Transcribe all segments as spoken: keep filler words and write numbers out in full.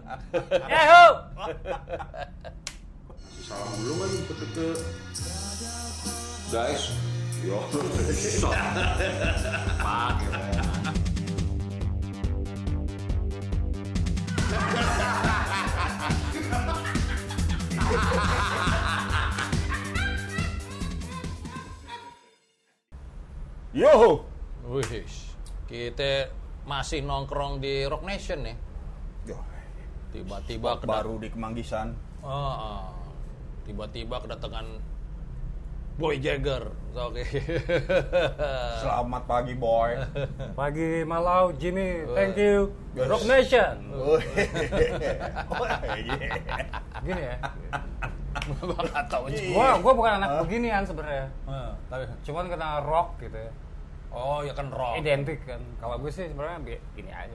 Yahoo! Masih salam dulu kan deket-deket. Guys, yo. Pakai. Yo. Wih, kita masih nongkrong di Rock Nation nih. Yo. Tiba-tiba kedat- Baru di Kemanggisan. Oh, oh. Tiba-tiba kedatangan Boy Jagger. Oke. Selamat pagi, boy. Pagi Malau, Jimmy, thank you. Rock Nation. Gini ya. Gua nggak tahu juga. Gua gua bukan anak beginian sebenarnya. Ah, tapi Cuman kena rock gitu ya. oh ya kan rock. Identik kan. Kalau gue sih sebenarnya bi- gini aja.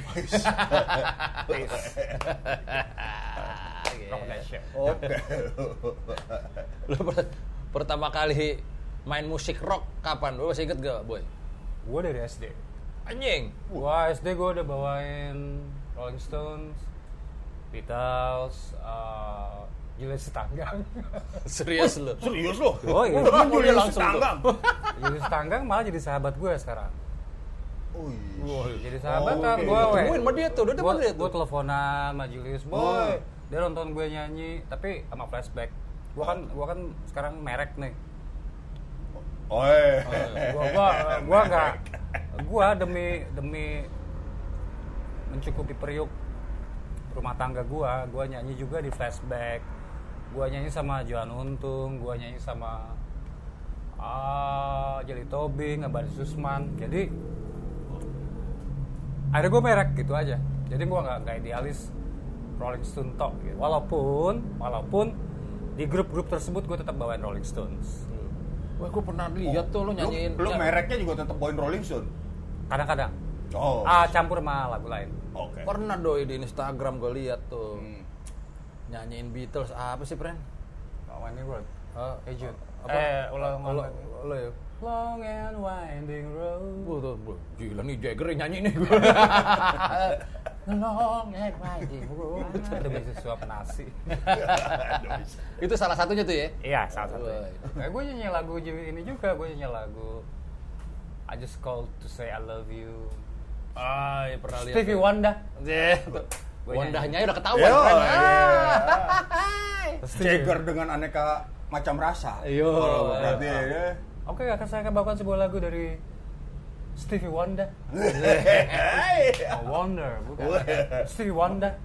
Rock Nation. Oke. Lu per- pertama kali main musik rock kapan? Lu masih inget gak, Boy? Gue dari S D. Anjing. Gua S D gue udah bawain Rolling Stones, Beatles, uh, Julius Tanggang. Serius lu? Serius lo? Oh iya. Kan Boleh Julius langsung tuh. Tanggang. Julius Tanggang malah jadi sahabat gue sekarang. Oh iya. Jadi sahabat kan Oke. gue. Temuin sama dia tuh, udah depan dia Gue tuh. teleponan sama Julius, boy. Oh. Dia nonton gue nyanyi, tapi sama flashback. Gue kan, gue kan sekarang merek nih. Oh iya. Gue, gue, gue nggak, gue demi demi mencukupi periuk rumah tangga gue, gue nyanyi juga di flashback. Gue nyanyi sama Johan Untung, gue nyanyi sama ah Jelly Tobing, Abadi Susman. Jadi akhirnya gue merek gitu aja. Jadi gue nggak nggak idealis Rolling Stone tok. Gitu. Walaupun walaupun di grup-grup tersebut gue tetap bawain Rolling Stones. Wah, gue pernah lihat tuh lu nyanyiin. Lu ya, mereknya juga tetap bawain Rolling Stone. Kadang-kadang. Oh. Ah campur sama lagu lain. Oke. Pernah doi di Instagram gue lihat tuh. Hmm. Nyanyiin Beatles apa sih, Pren? Lawannya gue. Ah, Hey Jude. apa? Eh, ulang Lo, ulang. lo ya. Long and winding road. Gua tuh, gua, gila nih Jagger yang nyanyi nih gue. Long and winding road. Ada bisa suap nasi. Itu salah satunya tuh ya. Iya, salah satu. Wah. Nah, gue nyanyi lagu ini juga, gue nyanyi lagu I Just Called to Say I Love You. Ah, ya pernah lihat. Stevie Wonder. Deh. Gua Wondahnya udah ketahuan. Yo, Pren. iya. Ah. Jagger dengan aneka macam rasa. Yo. Kalau berarti ya. Oke, akan saya akan bawakan sebuah lagu dari Stevie Wonder. Oh, Wonder, bukan. Stevie Wonder.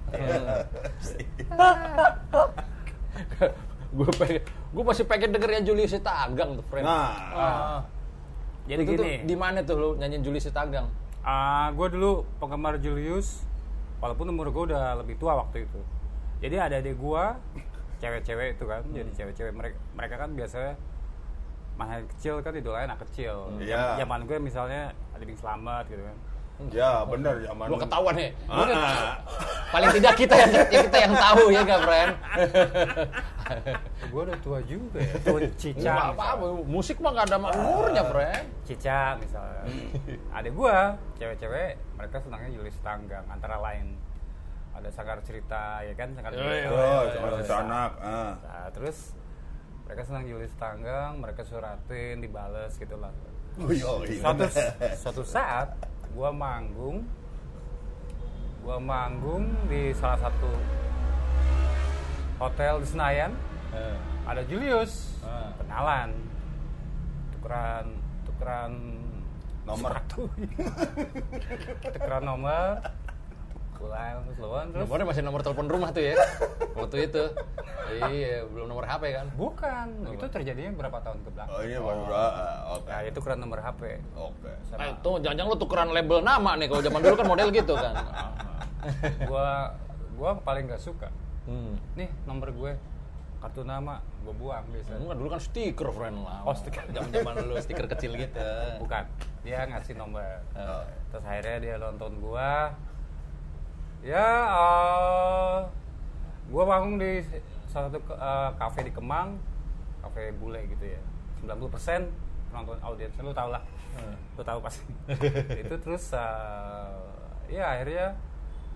Gue pengen, gue masih pengen denger yang Julius Tanggang tuh, friend. Nah. Ah. Jadi Itu tuh gini. di mana tuh lu nyanyiin Julius Tanggang? Ah, gue dulu penggemar Julius, walaupun umur gue udah lebih tua waktu itu. Jadi ada adik gue, cewek-cewek itu kan, jadi cewek-cewek mereka, mereka kan biasanya mana kecil kan idolanya anak kecil. Iya. Zaman gue misalnya ada Bing Slamet gitu kan. Ya, benar zaman. Gua ketahuan nih. Gua nih, Ah. paling tidak kita yang ya kita yang tahu ya gak, friend? Gue udah tua juga ya. Tua Cica. Nggak apa-apa, musik mah gak ada umurnya, friend. Cica misalnya. Adik gue, cewek-cewek, mereka senangnya Julius Tanggang antara lain. Ada Sanggar Cerita ya kan, Sanggar Cerita. Oh, cuma cerita anak. Ah. Nah, terus mereka senang Julius Tanggang, mereka suratin, dibales gitu lah. Oh, iya. Suatu, suatu saat gua manggung, gua manggung di salah satu hotel di Senayan. Eh. Ada Julius, Ah. kenalan, tukeran, tukeran Nomor. sepatu. tukeran nomor, pulang terus lawan terus. Nomornya masih nomor telepon rumah tuh ya. Waktu itu. Iya, belum nomor H P kan? Bukan, itu terjadinya berapa tahun ke belakang. Oh, ini baru. ah, Oke. Nah, itu tukeran nomor H P. Oke. Nah, itu jangan-jangan lu tukeran label nama nih. Kalau zaman dulu kan model gitu kan. gua gua paling nggak suka. Hmm. Nih nomor gue, kartu nama gue buang biasa. Enggak, dulu kan stiker, friend lah. Oh, stiker. Zaman-zaman dulu stiker kecil gitu. Bukan, dia ngasih nomor. Oh. Terus akhirnya dia nonton gua. Ya, uh, gua bangun di salah satu uh, kafe di Kemang, kafe bule gitu ya. sembilan puluh persen penonton audiens, lu tau lah. Hmm. Lu tahu pasti. Itu terus uh, ya akhirnya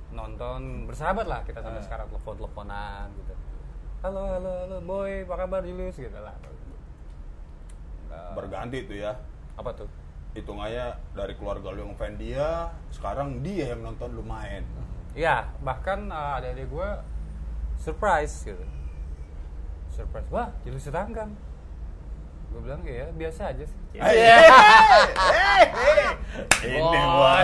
nonton bersahabat lah kita sampai Ah. sekarang, telepon-teleponan gitu. Halo, halo, halo, boy, apa kabar Julius gitu lah. Nggak- Berganti tuh ya. Apa tuh? Hitungannya dari keluarga lu yang fan dia, sekarang dia yang nonton lu main. Iya, bahkan uh, adik-adik gue surprise gitu. Surprise, wah Julius Tanggang. Gue bilang ya biasa aja sih. Eh, eh, eh, eh. Ini Boy, gua.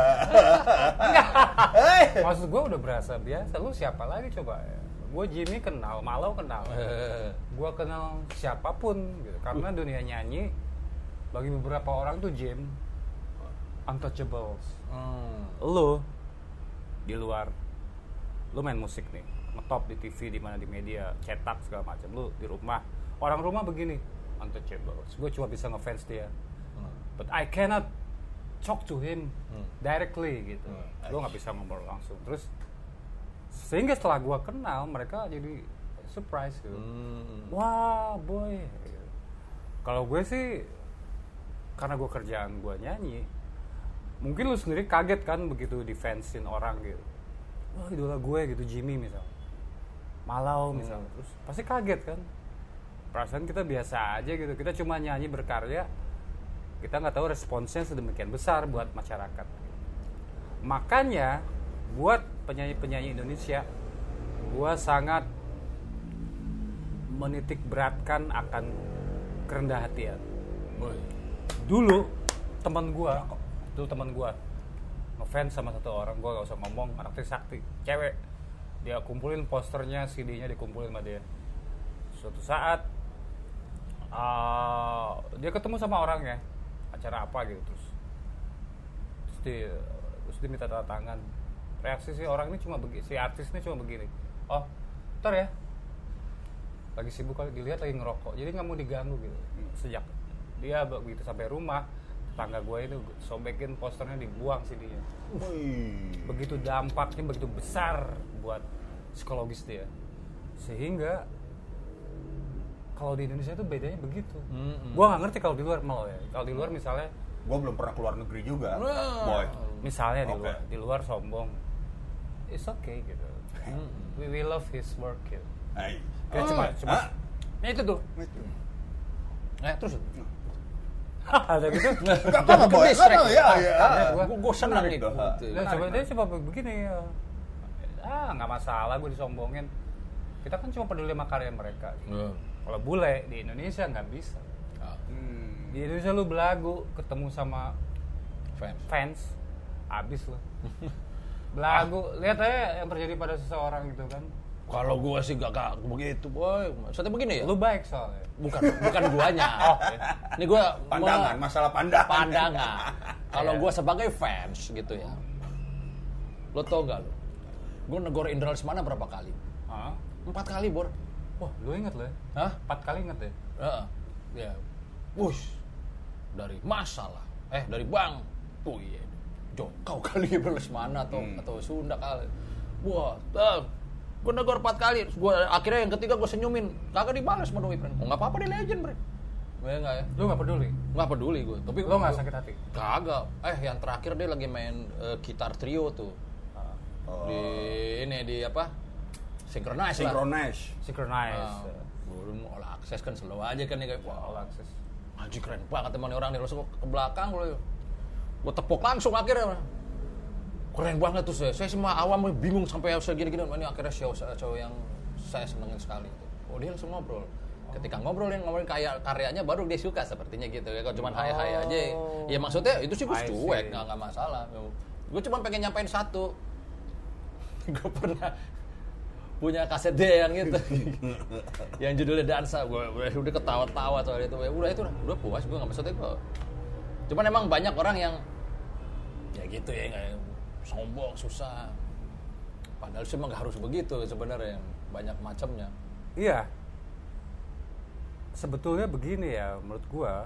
Eh. Maksud gue udah berasa biasa. Lu siapa lagi coba? Gue Jimmy kenal, Malau kenal. Eh, Gue kenal siapapun gitu. Karena dunia nyanyi bagi beberapa orang tuh Jim untouchables. hmm. Lu di luar, lu main musik nih, ngetop di T V, di mana di media, cetak segala macam. Lu di rumah, orang rumah begini, untouchables. Gue cuma bisa ngefans dia, Hmm. but I cannot talk to him Hmm. directly gitu. Hmm. Gue nggak bisa ngobrol langsung. Terus sehingga setelah gue kenal, mereka jadi surprise gitu. Hmm. Wah boy, kalau gue sih karena gue kerjaan gue nyanyi, mungkin lu sendiri kaget kan begitu difansin orang gitu. Wah idola gue gitu, Jimmy misal, Malau misal, Hmm. terus pasti kaget kan. Perasaan kita biasa aja gitu, kita cuma nyanyi berkarya, kita nggak tahu responsnya sedemikian besar buat masyarakat. Makanya buat penyanyi-penyanyi Indonesia, gue sangat menitik beratkan akan kerendah hatian. Boy. Dulu teman gua, dulu teman gua ngefans sama satu orang, gua gak usah ngomong, anak Trisakti, cewek. Dia kumpulin posternya, C D-nya dikumpulin sama dia. Suatu saat uh, dia ketemu sama orangnya, acara apa gitu, terus terus dia, terus dia minta tanda tangan. Reaksi si orang ini cuma begini, si artis ini cuma begini. Oh, ntar ya. Lagi sibuk kali, dilihat lagi ngerokok, jadi nggak mau diganggu gitu. Sejak dia begitu sampai rumah, tetangga gue itu sobekin posternya, dibuang C D-nya. Wih. Begitu dampaknya begitu besar buat psikologis dia, sehingga kalau di Indonesia itu bedanya begitu. Mm-mm. Gue nggak ngerti kalau di luar malah ya. Kalau di luar misalnya, Gua belum pernah keluar negeri juga, Wah. boy. misalnya di Oke. luar, di luar sombong, it's okay gitu. We, we love his work gitu. Hai. Kita cuma, cuma Hah? Nah itu tuh. Eh terus. ada gitu. Gak apa-apa, boy. Gak apa-apa, ya, ya. Gua- Gue gue senang Menarik itu. tuh. Gitu. Nah, coba dia coba begini ya. Ah, nggak masalah gue disombongin. Kita kan cuma peduli sama karya mereka. Hmm. Kalau bule di Indonesia nggak bisa. Ah, Hmm. Di Indonesia lu belagu ketemu sama fans. fans, abis lu. Belagu, lihat aja yang terjadi pada seseorang gitu kan. Kalau gue sih gak, gak begitu, boy. Maksudnya begini ya? Lu baik soalnya. Bukan, bukan guanya. Oh, Ini gue Pandangan, masalah pandangan. pandangan. Kalau Iya. gue sebagai fans gitu ya, lo tau gak lo? Gue negor Indra Lesmana berapa kali? Hah? Empat kali, Bor. Wah, lu inget lu ya? Hah? Empat kali inget ya? Heeh. Ya. Wush. Dari masalah. Eh, dari Bang. Oh iya. Jokau kali Indra Lesmana atau Hmm. atau Sunda kali. Wah, uh, gue negor empat kali. Terus gua akhirnya yang ketiga gue senyumin. Kagak dibalas sama doi, friend. Oh, enggak apa-apa, dia legend, friend. Ya enggak ya? Lu nggak peduli? Nggak peduli gue. Tapi Lu nggak sakit hati? Kagak. Eh, yang terakhir dia lagi main eh, gitar trio tuh. Oh. Di ini di apa? Synchronize lah. Synchronize. Synchronize. Ah, gue mau all access kan slow aja kan nih kayak All wah, access. anjing keren banget teman orang nih langsung ke belakang gue. Gue tepuk langsung akhirnya. Keren banget tuh saya. Saya semua awam bingung sampai segini-gini. Ini akhirnya show show yang saya senengin sekali. Oh dia langsung ngobrol. Ketika ngobrolin ngomongin kayak karyanya baru dia suka sepertinya gitu. Kalau cuma hai-hai aja, ya maksudnya itu sih gue I see. cuek, nggak nggak masalah. Gue cuma pengen nyampein satu. Gue pernah punya kaset dia yang itu yang judulnya Dansa. Gue udah ketawa-tawa soal itu. Ya udah itu udah, udah puas gue nggak maksudnya gue. Cuman emang banyak orang yang ya gitu ya nggak sombong susah. Padahal sih emang nggak harus begitu sebenarnya, banyak macamnya. Iya. Sebetulnya begini ya menurut gua.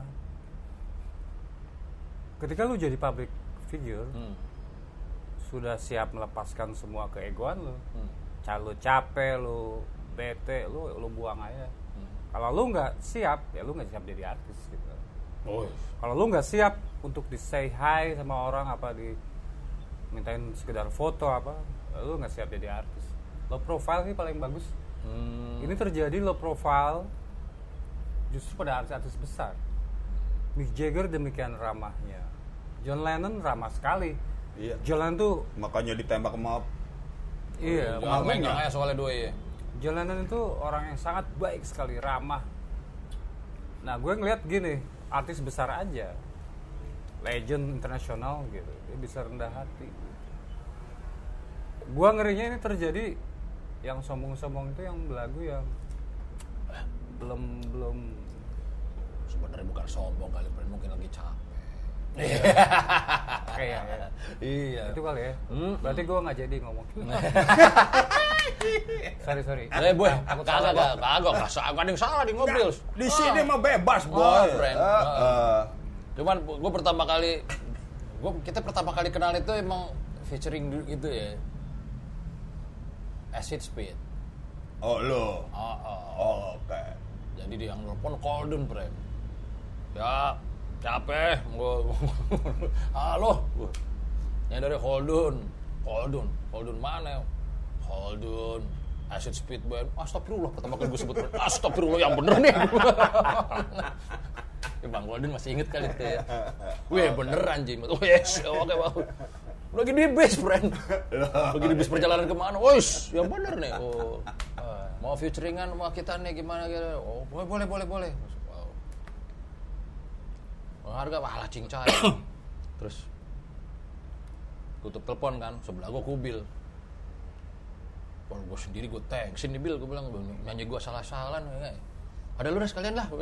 Ketika lu jadi public figure, Hmm. sudah siap melepaskan semua keegoan lu. Hmm. Ca- Lu capek, lu bete, lu lu buang aja. Hmm. Kalau lu nggak siap, ya lu nggak siap jadi artis gitu. Oh, Kalau lu nggak siap untuk di say hi sama orang apa di mintain sekedar foto apa, lu nggak siap jadi artis. Low profile sih paling bagus. Hmm. Ini terjadi low profile justru pada artis-artis besar. Mick Jagger demikian ramahnya. John Lennon ramah sekali. Iya. John Lennon tuh Makanya ditembak sama iya, Jangan pengagumnya. megang aja soalnya dua ya. John Lennon itu orang yang sangat baik sekali, ramah. Nah, gue ngeliat gini, artis besar aja, legend internasional gitu, dia bisa rendah hati. Gue ngerinya ini terjadi yang sombong-sombong itu yang belagu yang belum belum Sebenarnya bukan sombong kali, Bren. Mungkin lagi capek. kayak ya. Iya. Itu kali ya. Hmm. Berarti gue nggak jadi ngomong. sorry sorry. Eh, boy, Takut kagak, salah, kagak, kagak, kagak, ada yang salah di mobil. Di sini mah bebas, boy. Oh, Bren. Ah, ah. Cuman gue pertama kali, gua, kita pertama kali kenal itu emang featuring dulu gitu ya. Acid Speed. Oh, lo. Oh, oh. Oh, oke. Jadi dia yang nelfon Koldun, Bren. Ya, capek. Gua, halo. Ini dari Koldun. Koldun. Koldun mana? Koldun. Acid Speed Band. Astagfirullah, pertama kali gue sebut. Astagfirullah, yang bener nih. Ya, Bang Koldun masih inget kali itu ya. Wih, bener anjing. Oh, yes. Oke, Bang. Lagi di bis, friend. Lagi di bis perjalanan kemana? Wih, yang bener nih. Oh. Mau featuringan sama kita nih gimana gitu. Oh, boleh, boleh, boleh, boleh. Wow. Harga malah cincai. Terus tutup telepon kan, sebelah gue Kubil. Kalau gue sendiri gue thanksin nih Bil, gue bilang nyanyi gue salah-salah nih. Ada lu dah sekalian lah.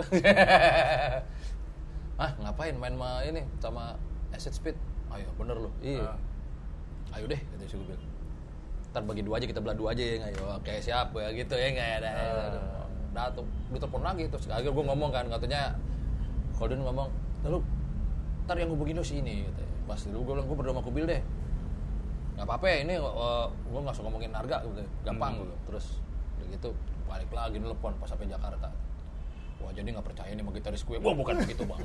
Ah, ngapain main sama ini sama Acid Speed? Ayo bener lu. Iya. Uh. Ayo deh, kata si Kubil. Ntar bagi dua aja, kita belah dua aja ya nggak? Oke siap ya gitu ya nggak ada. Uh. Dah tuh, gue telepon lagi terus akhirnya gue ngomong kan, katanya Koldun ngomong, lalu ntar yang hubungin lu si ini, gitu. Pas dulu gue bilang gue berdua sama Kubil deh. Nggak apa-apa ya ini, uh, gue nggak usah ngomongin harga gitu, gampang hmm. gitu. Terus gitu balik lagi nelfon pas sampai Jakarta. Wah jadi nggak percaya nih sama gitaris gue. Wah bukan begitu bang.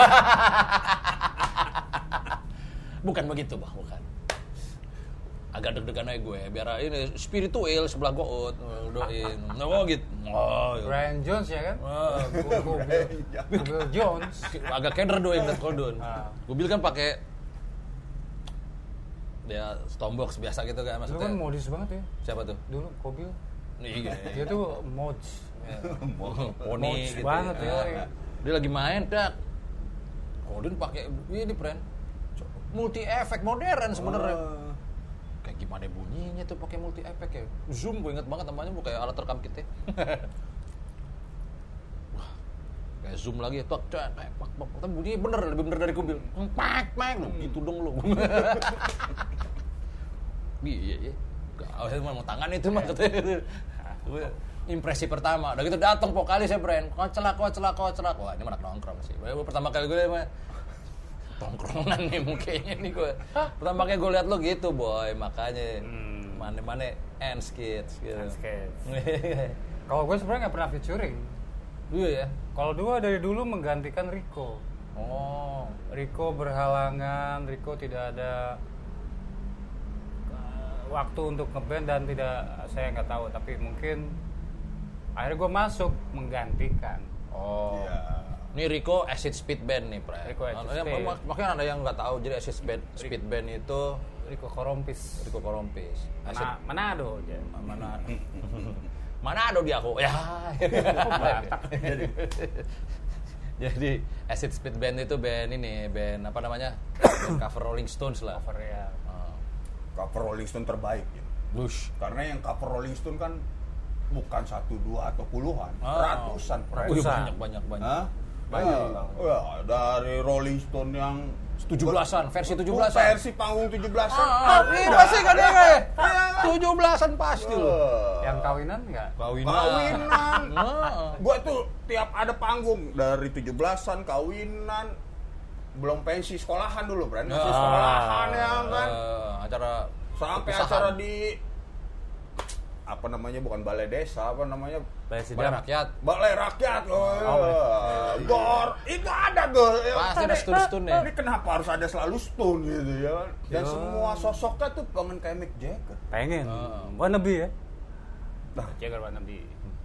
Bukan begitu bang, bukan. Agak deg-degan aja gue, biar ini spiritual sebelah gue doain. Oh gitu. Oh, iya. Brian Jones ya kan? Oh, Bill Jones. Agak keder doain dan Koldun. Ah. Gue bilang kan pakai dia Stormbox biasa gitu kan maksudnya. Dulu kan modis banget ya. Siapa tuh? Dulu Kobil. Iya. Dia tuh mods. Poni Mods gitu. banget ya. Ah. Dia lagi main dak. Koldun pakai ini friend. Multi efek modern sebenarnya. Uh. Kayak gimana bunyinya tuh pakai multi efek ya? Zoom gue inget banget namanya, bukan kayak alat rekam kita. Wah, kayak zoom lagi, pak, pak, pak, pak, tapi bunyinya bener, lebih bener dari Kubil. Pak, pak, lu gitu dong lu. Iya, iya. Gak, saya mau tangan itu mah katanya. Impresi pertama, udah gitu datang vokalis ya Bren, kocelak, kocelak, kocelak. Wah ini mana nongkrong sih. Pertama kali gue mah tongkrongan nih mukanya nih gue. Pertama kali gue liat lo gitu boy, makanya hmm. mana-mana ends kids gitu. Ends kids. Kalau gue sebenarnya nggak pernah featuring. Iya ya. Kalau dua dari dulu menggantikan Rico. Oh, Rico berhalangan, Rico tidak ada uh, waktu untuk ngeband dan tidak, saya nggak tahu, tapi mungkin akhirnya gue masuk menggantikan. Oh. Iya. Ini Rico Acid Speed Band nih, Pre. Rico Acid Speed. Speed. Makanya ada yang nggak tahu, jadi Acid Speed, Speed Band itu Rico Korompis. Rico Korompis. Mana, Manado aja. Mana? Manado dia aku. Ya. jadi, jadi Acid Speed Band itu band ini, band apa namanya? Band cover Rolling Stones lah. Cover ya. Uh. Cover Rolling Stone terbaik ya. Lush. Karena yang cover Rolling Stone kan bukan satu, dua, atau puluhan, Oh. ratusan. Oh, banyak, banyak, banyak. Hah? Banyak. Ya, dari Rolling Stone yang tujuh belasan, versi tujuh belasan. Versi panggung tujuh belasan. Ah, ini pasti kan ya, kayak tujuh belasan pasti loh. Yang kawinan nggak? Kawinan. Kawinan. Nah. Gua tuh tiap ada panggung dari tujuh belasan, kawinan, belum pensi sekolahan dulu, Bran. Masih sekolahan ya kan. Uh, acara Sampai perpisahan. acara di apa namanya bukan balai desa, apa namanya Balai Balai Sidang. rakyat. balai rakyat loh. Oh, Gor itu ada tuh. Pasti ada stun-stunnya. Ini kenapa harus ada selalu stun gitu ya kan? Dan Yo. semua sosoknya tuh pengen kayak Mick Jagger. Pengen. Oh. Wannabe ya. Nah, Jagger wannabe.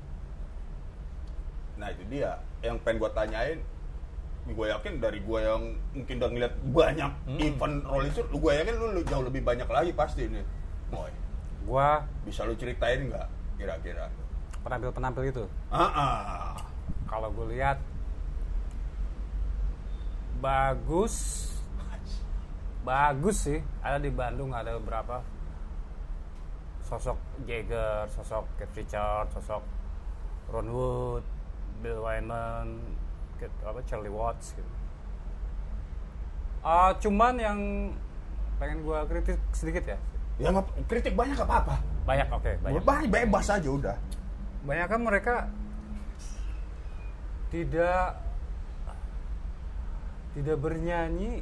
nah itu dia yang pengen gue tanyain. Gue yakin dari gue yang mungkin udah ngeliat banyak Hmm. event Rolling Stone, gue yakin lu lu jauh lebih banyak lagi pasti ini. Boy, Gua bisa lu ceritain nggak kira-kira? penampil-penampil itu. Ah, ah. Kalau gue lihat bagus, bagus sih. Ada di Bandung ada beberapa sosok Jagger, sosok Keith Richards, sosok Ron Wood, Bill Wyman, Keith- apa Charlie Watts gitu. Ah, cuman yang pengen gue kritik sedikit ya. Ya nggak kritik banyak nggak apa-apa. Banyak, oke, banyak. Banyak bebas aja udah. Banyak kan mereka tidak tidak bernyanyi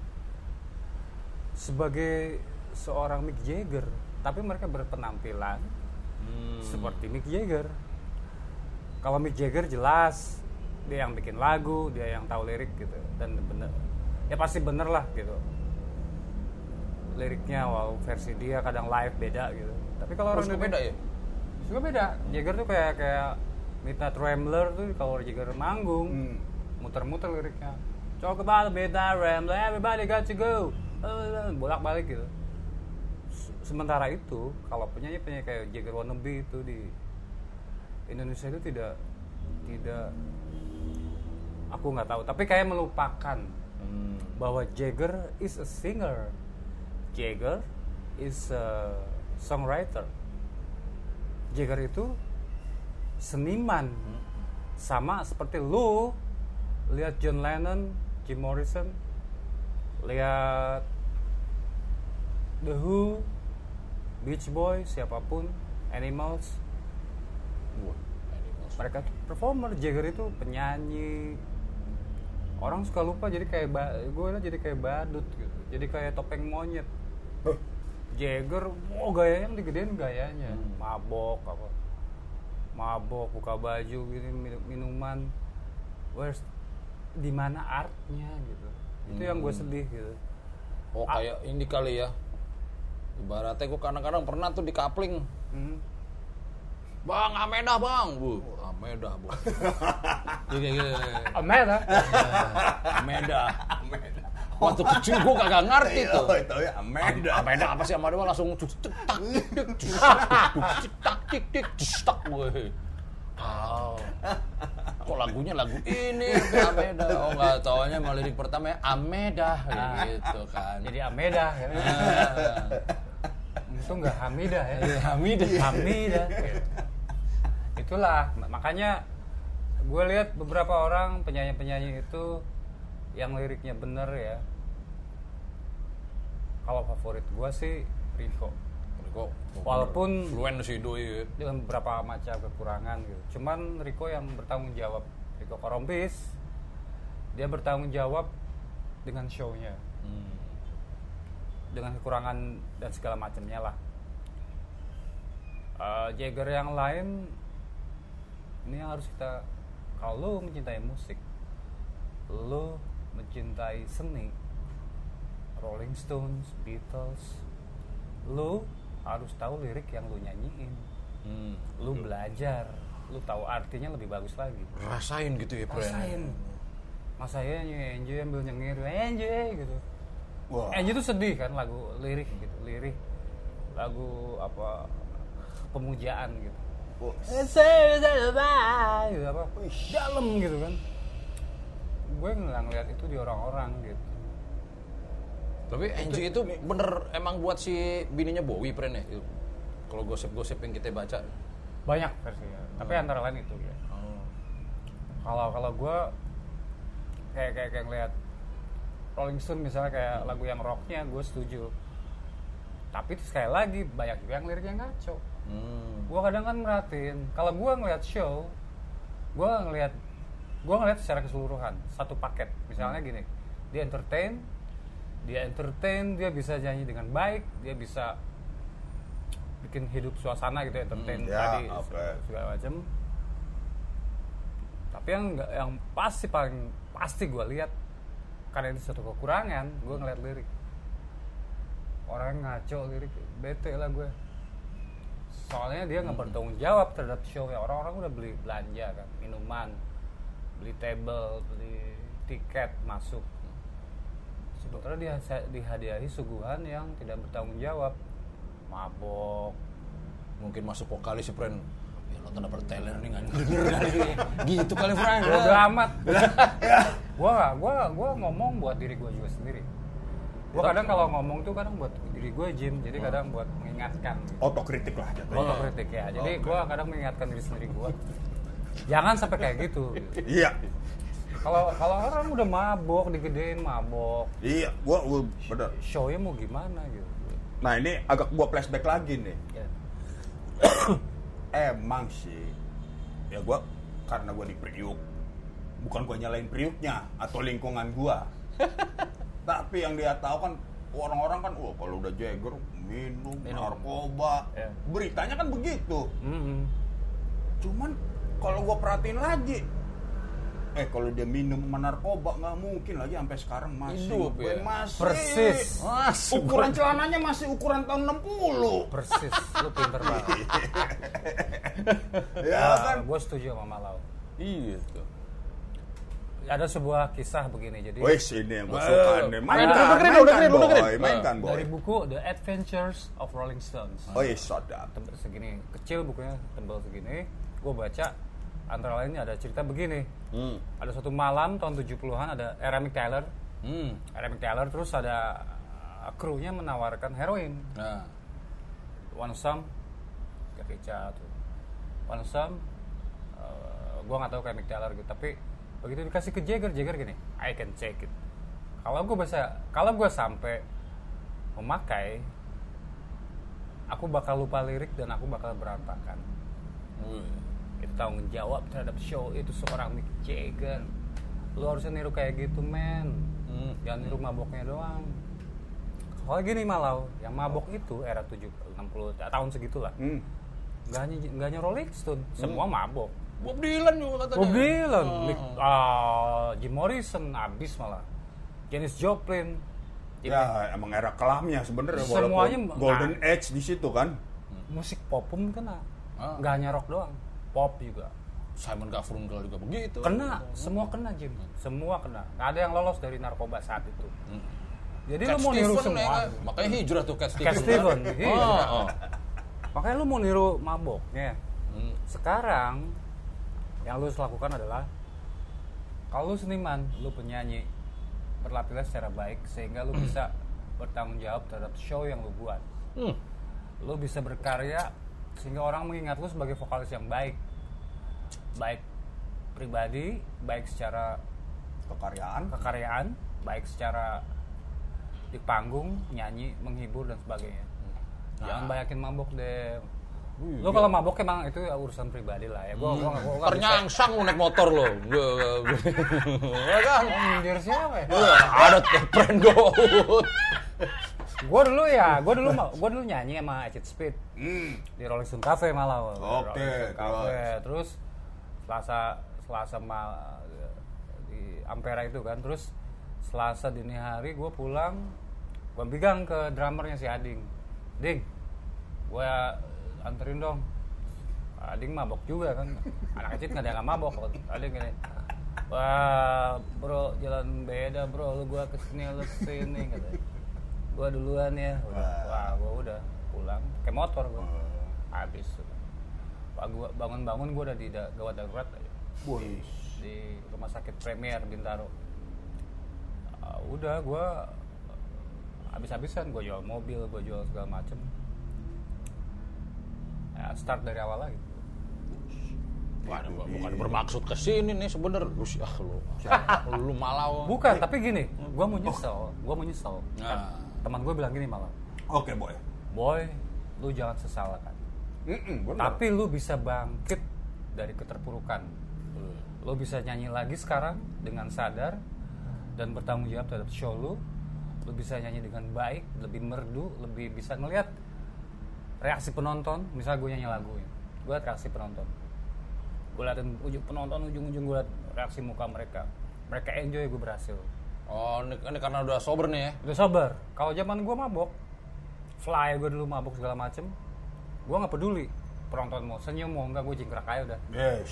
sebagai seorang Mick Jagger, tapi mereka berpenampilan Hmm. seperti Mick Jagger. Kalau Mick Jagger jelas dia yang bikin lagu, dia yang tahu lirik gitu, dan bener, ya pasti bener lah gitu. Liriknya wow versi dia kadang live beda gitu. Tapi kalau Terus orang beda ya? Juga beda. Jagger tuh kayak kayak Midnight Rambler tuh kalau Jagger manggung Hmm. muter-muter liriknya. Talk about Midnight Rambler, everybody got to go. Bolak-balik gitu. Se- Sementara itu kalau penyanyi-penyanyi kayak Jagger wannabe itu di Indonesia itu tidak tidak aku nggak tahu, tapi kayak melupakan Hmm. bahwa Jagger is a singer. Jagger is a songwriter. Jagger itu seniman. Sama seperti lu lihat John Lennon, Jim Morrison, lihat The Who, Beach Boys, siapapun, Animals. Wah, Animals. Mereka tuh performer. Jagger itu penyanyi. Orang suka lupa jadi kayak ba- gue liat jadi kayak badut gitu. Jadi kayak topeng monyet. Huh. Jagger, wow gayanya yang digedein gayanya. Hmm. Mabok apa? Mabok, buka baju gini minum- minuman. Where's di mana artnya gitu. Itu yang gue sedih gitu. Oh kayak ini kali ya. Ibaratnya gue kadang-kadang pernah tuh di kapling. Hmm. Bang, Amedah bang, bu, Amedah bu. Gini gini. Amet ah. Amedah. Waktu kecil gue kagak ngerti tuh. Oh, itu ya Ameda. Amedah apa sih? Amedah mah langsung cuk cuk tak tik tik cuk cuk tak tik tik cuk gue. Oh. Kok lagunya lagu ini Amedah? Oh nggak taunya mau lirik pertama ya Amedah gitu kan. Jadi Ameda ya. Ah. Itu enggak Hamidah ya. Hamidah. Hamidah. Itulah makanya gue lihat beberapa orang penyanyi-penyanyi itu yang liriknya bener ya. Kalau favorit gue sih Rico. Rico, Walaupun fluent sih doi. dengan beberapa macam kekurangan gitu. Cuman Rico yang bertanggung jawab. Rico Korompis dia bertanggung jawab dengan show-nya. Hmm. Dengan kekurangan dan segala macamnya lah. Uh, Jagger yang lain ini yang harus kita, kalau lo mencintai musik, lo mencintai seni, Rolling Stones, Beatles, lo harus tahu lirik yang lo nyanyiin. Hmm. Lo belajar, lo tahu artinya lebih bagus lagi. Rasain gitu ya, Bro. Rasain. Mas saya enjoy ambil nyengir, enjoy gitu. Wah. Enjoy itu sedih kan lagu lirik gitu, lirik lagu apa pemujaan gitu. Wah. Gitu apa? Dalam gitu kan. Gue nggak ngeliat itu di orang-orang gitu. Tapi Angie itu bener emang buat si bininya Bowie, Pren ya? Kalau gosip-gosip yang kita baca. Banyak versinya. Tapi antara lain itu ya. Oh. Kalau kalau gue kayak kayak kayak ngeliat Rolling Stone misalnya kayak lagu yang rocknya gue setuju. Tapi itu sekali lagi banyak juga yang liriknya ngaco. Hmm. Gue kadang kan merhatiin kalau gue ngeliat show, gue ngeliat gue ngeliat secara keseluruhan satu paket. Misalnya gini, dia entertain, dia entertain, dia bisa nyanyi dengan baik, dia bisa bikin hidup suasana gitu, entertain Hmm, ya, tadi oke. segala macam. Tapi yang nggak, yang pasti paling pasti gue lihat, karena itu satu kekurangan, gue ngeliat lirik orang ngaco lirik, bete lah gue. Soalnya dia nggak bertanggung jawab terhadap show ya. Orang-orang udah beli belanja kan, minuman, beli table, beli tiket masuk. Sementara dia dihadiahi suguhan yang tidak bertanggung jawab, mabok. Mungkin masuk vokalis si Friend. Ya lo tanda berteler nih nggak denger kali ini. Gitu kali Friend. Bodo amat. Gua nggak, gua gua ngomong buat diri gua juga sendiri. Gua kadang kalau ngomong tuh kadang buat diri gua Jim, jadi kadang buat mengingatkan. Otokritik lah jatuhnya. Otokritik ya. Jadi gua kadang mengingatkan diri sendiri gua. Jangan sampai kayak gitu. Iya. Kalau kalau orang udah mabok, digedein mabok, Iya, gua, gua bener. show-nya mau gimana gitu. Nah ini agak gua flashback lagi nih. Ya. Emang sih, ya gua karena gua di Priuk, bukan gua nyalain Priuknya atau lingkungan gua. Tapi yang dia tahu kan orang-orang kan, wah kalau udah Jagger minum, Minum. narkoba, Ya. beritanya kan begitu. Mm-hmm. Cuman kalau gua perhatiin lagi, eh kalau dia minum sama narkoba nggak mungkin lagi sampai sekarang masih Hidup, gue ya? masih Persis. Mas, ukuran celananya masih ukuran tahun enam puluh. Persis, lu pinter banget. Ya kan? Gue setuju sama Malau. Iya tuh. Ada sebuah kisah begini, jadi Wes ini yang gue Eh, suka nih. udah Mainkan, dengerin, udah mainkan dengerin, udah boy, dengerin. mainkan boy. dari buku The Adventures of Rolling Stones. Oh iya, sadap. Tebel segini, kecil bukunya, tebal segini. Gue baca, antara lainnya ada cerita begini. Hmm. Ada suatu malam tahun tujuh puluhan ada Aaron Taylor. Hmm. Aaron Taylor terus ada uh, krunya menawarkan heroin. Nah. One some, kayak Richard. One some, uh, gue nggak tahu kayak Mick Taylor gitu. Tapi begitu dikasih ke Jagger, Jagger gini, I can take it. Kalau gue bisa, kalau gue sampai memakai, aku bakal lupa lirik dan aku bakal berantakan. Wih. Itu tanggung jawab terhadap show itu seorang Mick Jagger. Lu harusnya niru kayak gitu, men. Hmm. Jangan niru maboknya doang. Kalau gini Malau, yang mabok itu era tujuh puluh enam puluh tahun segitulah. Hmm. Enggak hanya enggak hanya Rolling Stone, semua mabok. Bob Dylan juga katanya. Bob Dylan, Oh. Mick, ah, Jim Morrison abis malah. Janis Joplin. Jadi, Ya emang era kelamnya sebenarnya. Semuanya- walaupun Golden Age di situ kan. musik pop pun kena. Ah. Enggak hanya rock doang, pop juga. Simon Garfunkel juga begitu. Kena, semua kena Jim. Semua kena. Nggak ada yang lolos dari narkoba saat itu. Hmm. Jadi Cat lu mau niru Stevens semua. ya kan? Makanya hijrah tuh Cat Stevens. Cat Stevens, kan? iya. Oh, oh. Makanya lu mau niru maboknya. Hmm. Sekarang yang lu harus lakukan adalah kalau lu seniman, lu penyanyi, berlatihlah secara baik sehingga lu bisa bertanggung jawab terhadap show yang lu buat. Hmm. Lu bisa berkarya sehingga orang mengingat lu sebagai vokalis yang baik. Baik pribadi, baik secara Kekaryaan. kekaryaan, baik secara di panggung, nyanyi, menghibur dan sebagainya. Jangan Nah. banyakin mabok deh. Wih, Lo kalau mabok emang itu urusan pribadi lah ya. Gua gua gua gua nggak bisa. Ternyangsang lu naik motor lo. Ya kan? Oh, nyindir siapa ya? Wah, ada tuh friend goat. Gua dulu ya, gua dulu ma- gua dulu nyanyi sama Acid Speed Hmm. di Rolling Stone Cafe malah. Oke, Rolling Stone Cafe. terus? Terus Selasa Selasa mal di Ampera itu kan. Terus Selasa dini hari gua pulang, gua pegang ke drummernya si Ading. Ding, gua anterin dong. Ading mabok juga kan. Anak kecil nggak ada yang nggak mabok. Ading gini, wah bro jalan beda bro, lu gua kesini lu kesini katanya. Gua duluan ya. Udah. Wah gua udah pulang pakai motor gua. Habis. Wah, gua bangun-bangun gua udah di da- gawat darurat aja. Wih. Di rumah sakit Premier Bintaro. Ah, udah gua habis-habisan gua jual mobil, gua jual segala macem. Ya, start dari awal lagi. Waduh, bukan bermaksud ke sini nih sebenernya. Lu sih ah lu. Lu malau. Bukan, tapi gini, gua mau nyesel, gua mau nyesel. Nah. Teman gue bilang gini malah, Oke boy. boy, lu jangan sesalkan. Mm-mm, benar. Tapi lu bisa bangkit dari keterpurukan. Lu bisa nyanyi lagi sekarang dengan sadar dan bertanggung jawab terhadap show lu. Lu bisa nyanyi dengan baik, lebih merdu, lebih bisa ngelihat reaksi penonton, misal gue nyanyi lagu, gue liat reaksi penonton, gue liatin ujung penonton ujung-ujung gue liat reaksi muka mereka, mereka enjoy, gue berhasil. Oh, ini, ini karena udah sober nih ya? Udah sabar. Kalau zaman gue mabok, fly gue dulu mabok segala macem, gue nggak peduli penonton mau senyum mau enggak, gue jingkrak aja udah. Yes.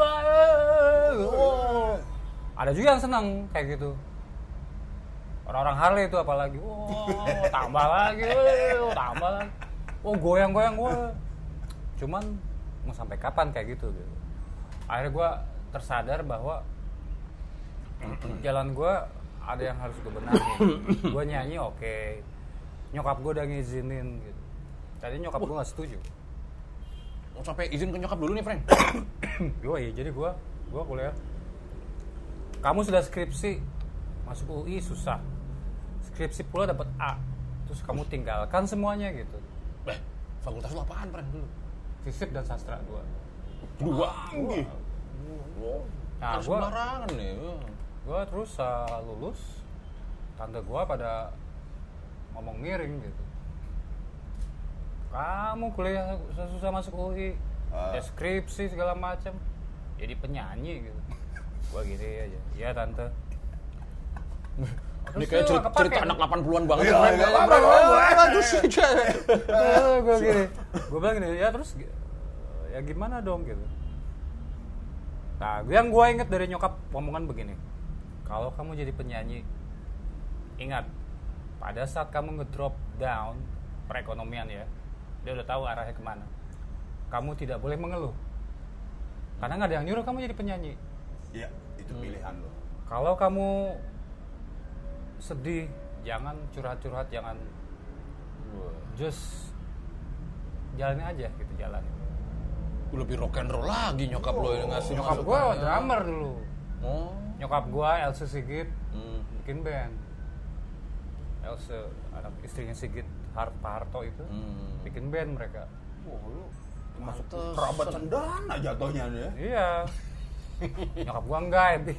Ada juga yang senang kayak gitu. Orang-orang Harley itu apalagi, wow, tambah lagi, wow, tambah lagi, oh goyang-goyang gue. Cuman mau sampai kapan kayak gitu? Gitu. Akhirnya gue tersadar bahwa jalan gue ada yang harus gue benahin. Gue nyanyi oke, okay. Nyokap gue udah ngizinin gitu. Tadi nyokap gue nggak setuju. Mau sampai izin ke nyokap dulu nih, Frank. Yoi, jadi gue, gue kuliah. Kamu sudah skripsi, masuk U I susah. Skripsi pula dapat A, terus kamu tinggalkan semuanya gitu. Eh, fakultas lu apaan, Frank dulu? Fisip dan sastra dua. Dua. Tinggi. Nah, Kan gua, sembarangan nih. gue terus uh, lulus, tante gue pada ngomong miring gitu. Kamu kuliah susah masuk U I, Ah. deskripsi segala macam, jadi penyanyi gitu. Gue gini aja, iya tante. Ini kayak cerita, cerita anak delapan puluhan banget. Iya, Frank. nggak apa-apa. Terus Gue gini, gue bilang gini, ya terus ya gimana dong gitu. Nah, yang gue inget dari nyokap omongan begini, kalau kamu jadi penyanyi, ingat pada saat kamu ngedrop down perekonomian ya, dia udah tahu arahnya kemana. Kamu tidak boleh mengeluh, karena nggak ada yang nyuruh kamu jadi penyanyi. Iya, itu pilihan lo. Kalau kamu sedih, jangan curhat-curhat, jangan, just jalanin aja gitu, jalanin. Lebih rock and roll lagi nyokap lo yang ngasih Nyokap gue masukannya. drummer dulu. Oh. Nyokap gue Else Sigit Hmm. bikin band. Else anak istrinya Sigit Har- Pak Harto itu Hmm. bikin band mereka. Wah, lu masuk Pantes. kerabat cendana jatuhnya nih ya. Iya. Nyokap gue enggak ya.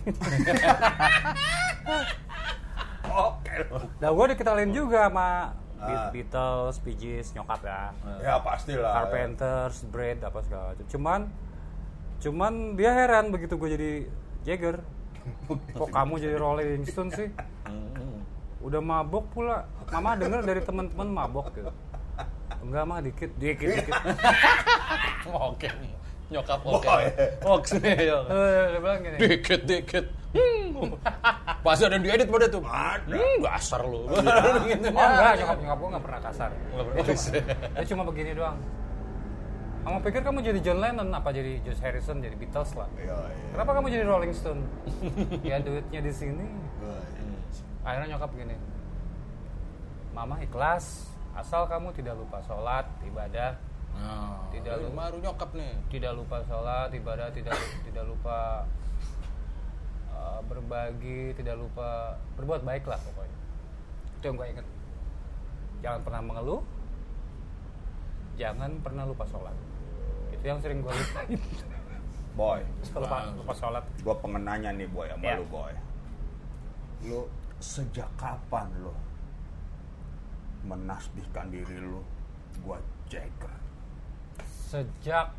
Oke. Nah gue dikenalin juga sama Ah. Beatles, Bee Gees, nyokap ya. Ya pastilah. Carpenters, Bread, apa segala macam. Cuman, cuman dia heran begitu gue jadi Jagger. Kok kamu jadi Rolling Stone sih? Hmm. Udah mabok pula. Mama denger dari teman-teman mabok gitu. Enggak mah dikit, dikit, dikit. Oke. Nyokap oke. Boy. Oke. Eh, dia bilang gini. Dikit dikit. Hmm. Pasti ada yang diedit pada tuh. Ada. Hmm, dasar lu. Gitu. Oh enggak, nyokap nyokap gue nggak pernah kasar. Nggak pernah. Dia cuma, dia cuma begini doang. Kamu pikir kamu jadi John Lennon apa jadi George Harrison, jadi Beatles lah? Iya, iya. Kenapa kamu jadi Rolling Stone? Ya duitnya di sini. Wah, Akhirnya nyokap gini, Mama ikhlas, asal kamu tidak lupa sholat, ibadah, Nah, Tidak ini lu- baru nyokap nih. tidak lupa sholat, ibadah, tidak tidak lupa uh, berbagi, tidak lupa berbuat baik lah pokoknya. Itu yang gue inget. Jangan pernah mengeluh, jangan pernah lupa sholat. Itu yang sering gue lupain. Boy, Lupa, lupa sholat. gua pengenanya nih boy sama Ya. lu boy. Lu sejak kapan lu menasbihkan diri lu gua Jagger? Sejak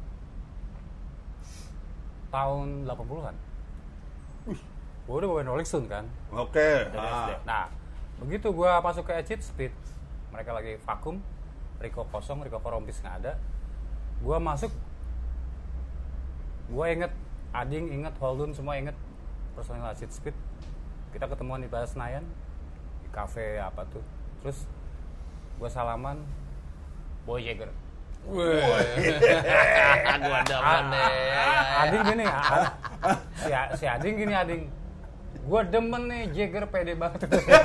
tahun delapan puluhan. Gue udah bawain Rolling Stone kan. Oke. Dari ah. S D. Nah, begitu gue masuk ke Acid Speed, mereka lagi vakum, Rico kosong, Rico Korompis nggak ada. Gue masuk, gue inget Ading, inget Holdun, semua inget personil Acid Speed. Kita ketemuan di Plaza Senayan, di kafe apa tuh. Terus gue salaman, Boy Jagger. Wih. Gua demen deh. Ading gini, A- si, si Ading gini Ading. Gue demen nih Jagger pede banget.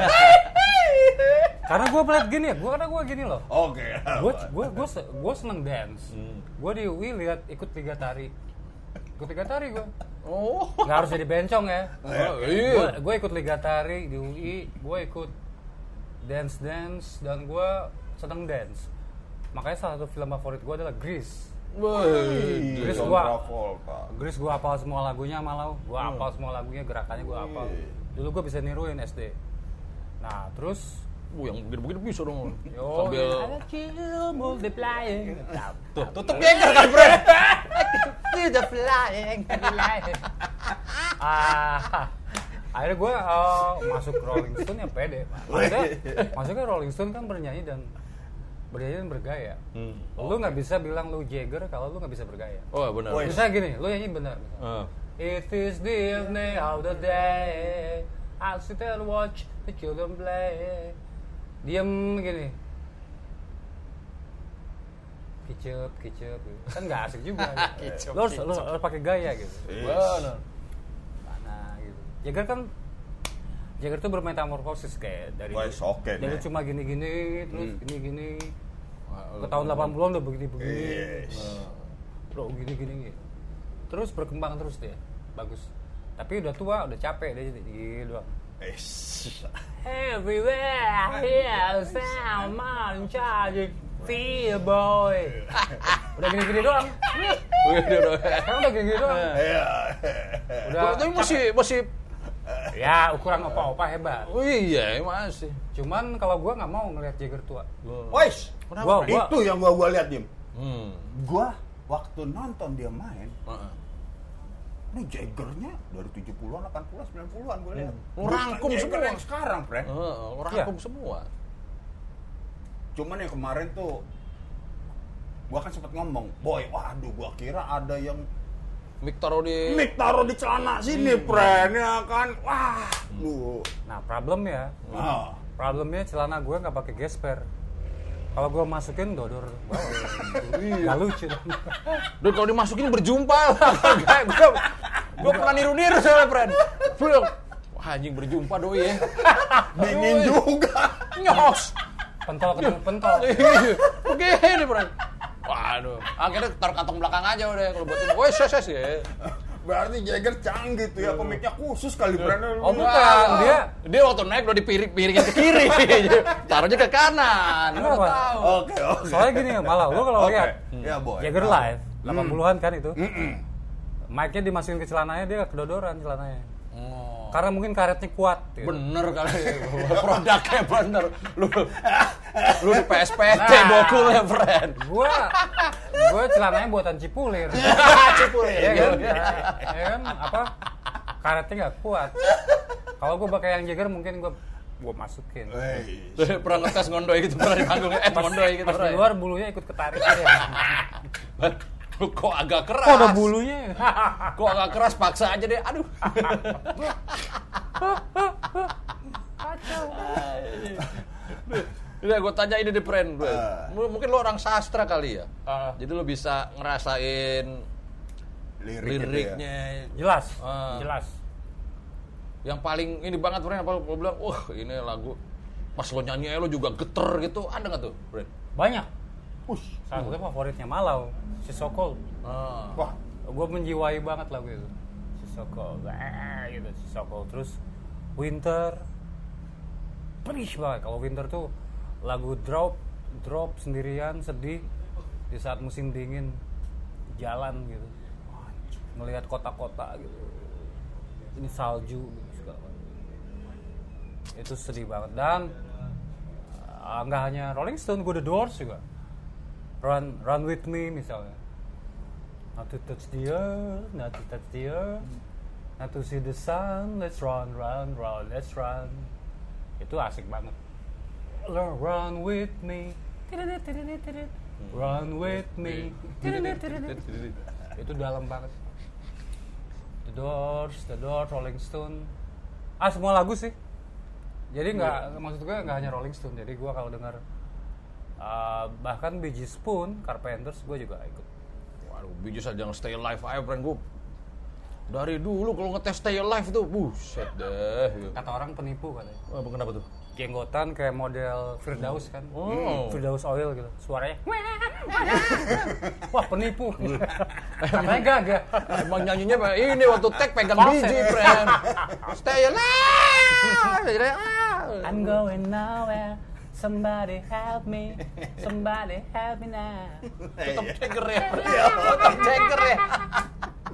Karena gue melihat gini ya, gue karena gue gini loh. Oke. Gue gue gue gue seneng dance. Gue di U I lihat ikut liga tari. Ikut liga tari gue. Oh. Nggak harus jadi bencong ya. Oh, Gue iya. gue ikut liga tari di U I. Gue ikut dance dance dan gue seneng dance. Makanya salah satu film favorit gue adalah Grease. Wih. Grease John gua. Travolta. Grease gue hafal semua lagunya malau. Gue hafal semua lagunya, gerakannya gue hafal. Dulu gue bisa niruin S D. Nah terus Uh, yang begini-begini bisa dong. Oh, Sambil kill multiplying. tuh tutup Jagger kan, Bro. Kill flying. Ah, akhirnya gue uh, masuk Rolling Stone ya pede. Maksudnya, maksudnya Rolling Stone kan bernyanyi dan bernyanyi dan bergaya. Hmm. Lu nggak bisa bilang lu Jagger kalau lu nggak bisa bergaya. Oh, benar. Woi. Misalnya gini, lu nyanyi benar. Ah. It is the evening of the day, I'll sit and watch the children play. Diem gini, kicep, kicep, gitu. Kan nggak asik juga. Gitu. Lo harus, lo harus pakai gaya gitu. Benar. Mana gitu. Jagger kan, Jagger tuh bermetamorfosis kayak dari Wah, oke dari deh. cuma gini-gini, terus Hmm. gini-gini. Wah, Ke tahun delapan puluhan udah begini-begini. Yes. Bro, gini-gini gitu. Terus berkembang terus dia, bagus. Tapi udah tua, udah capek dia gitu doang. Es. Everywhere, here, sound, charging, feel boy. Udah gini-gini doang. Udah, udah. Sekarang udah gini-gini doang. Iya. Udah. Tapi masih masih Ya, ukuran opa-opa hebat. oh iya, masih. Cuman kalau gua nggak mau ngeliat Jagger tua. Wais. Gua, gua, Itu yang gua gua lihat, Jim. Hmm. Gua waktu nonton dia main, Heeh. ini Jaggernya dari tujuh puluhan, delapan puluhan, sembilan puluhan gua lihat. Hmm. Rangkum Jagger semua. yang sekarang, Fred. Heeh, orang Iya. rangkum semua. Cuman yang kemarin tuh gua kan sempat ngomong, "Boy, waduh gua kira ada yang Mic taruh di mic taruh di celana sini, Fred." Ya kan. Wah, lu. nah problem ya, Ah. problemnya celana gua nggak pakai gesper. Kalau gua masukin dodor bawah, nggak lucu. Dan kalau dimasukin berjumpa lah. Gue gue pernah niru-niru soalnya, friend. Belum. Wah, anjing berjumpa doi ya. Dingin juga. Nyos. Pentol ketemu pentol. Begini, friend. Waduh. Akhirnya taruh kantong belakang aja udah kalau buat ini. Woi, ses ses ya. Berarti Jagger canggih tuh ya, komiknya khusus kali, Fred. Oh bukan, dia Dia waktu naik udah dipiring-piringin ke kiri. Taruhnya ke kanan. Lu Kenapa? tahu. Oke, oke. soalnya gini malah lu kalau Oke. lihat Ya, Boy. Jagger live delapan puluhan kan itu. Mm-mm. Mic-nya dimasukin ke celananya, dia kedodoran celananya. Oh. Karena mungkin karetnya kuat gitu. Bener kali produknya bener. Lu lu di P S P T Nah. bokulnya, friend. Gua gua celananya buatan Cipulir. Cipulir. Iya kan? Ya kan apa? Karetnya nggak kuat. Kalau gua pakai yang Jagger mungkin gua gua masukin. Wey. Pernah ngetes ngondoy gitu, pernah di panggungnya, eh ngondoy gitu. Pas di pernah. luar bulunya ikut ketarik aja. Lu kok agak keras. Kok ada bulunya? Kok agak keras, paksa aja deh. Aduh. Kacau. Udah gue tanya ini deh, friend. Ah. M- Mungkin lu orang sastra kali ya. Ah. Jadi lu bisa ngerasain Lirik gitu ya. liriknya. Jelas, Ah. jelas. Yang paling ini banget, friend, apa lu bilang, wah ini lagu pas lo nyanyi lo juga geter gitu, ada nggak tuh, friend? Banyak. Ush, salah satu favoritnya Malau, si Sokol. Ah. Wah, Gue menjiwai banget lagu itu. Si Sokol, ah, gitu, si Sokol. Terus Winter, pedih banget. Kalau Winter tuh lagu drop, drop sendirian, sedih di saat musim dingin, jalan gitu, melihat kota-kota gitu. Ini salju gitu segala macam. Itu sedih banget. Dan uh, nggak hanya Rolling Stone, gue The Doors juga. Run, Run With Me misalnya. Not to touch the earth, not to touch the earth, not to see the sun. Let's run, run, run, let's run. Itu asik banget. Run with me, run with me. Itu dalam banget. The Doors, The Doors, Rolling Stone. Ah, semua lagu sih. Jadi nggak, maksud gue nggak hanya Rolling Stone. Jadi gue kalau dengar uh, bahkan Bee Gees pun, Carpenters, gue juga ikut. Waduh, Bee Gees aja yang Stay Alive aja, friend. Gue dari dulu kalau ngetes Stay Alive tuh, buset deh. Gitu. Kata orang penipu katanya. Wah, kenapa tuh? Jenggotan kayak model Firdaus kan. Oh. Firdaus Oil gitu. Suaranya. Wah, penipu. Katanya gagah. Emang nyanyinya Pak, ini waktu tag pegang Falset. biji, friend. Stay alive. I'm going nowhere. Somebody help me. Somebody help me now. Tetap ceger ya. Tetap ceger ya.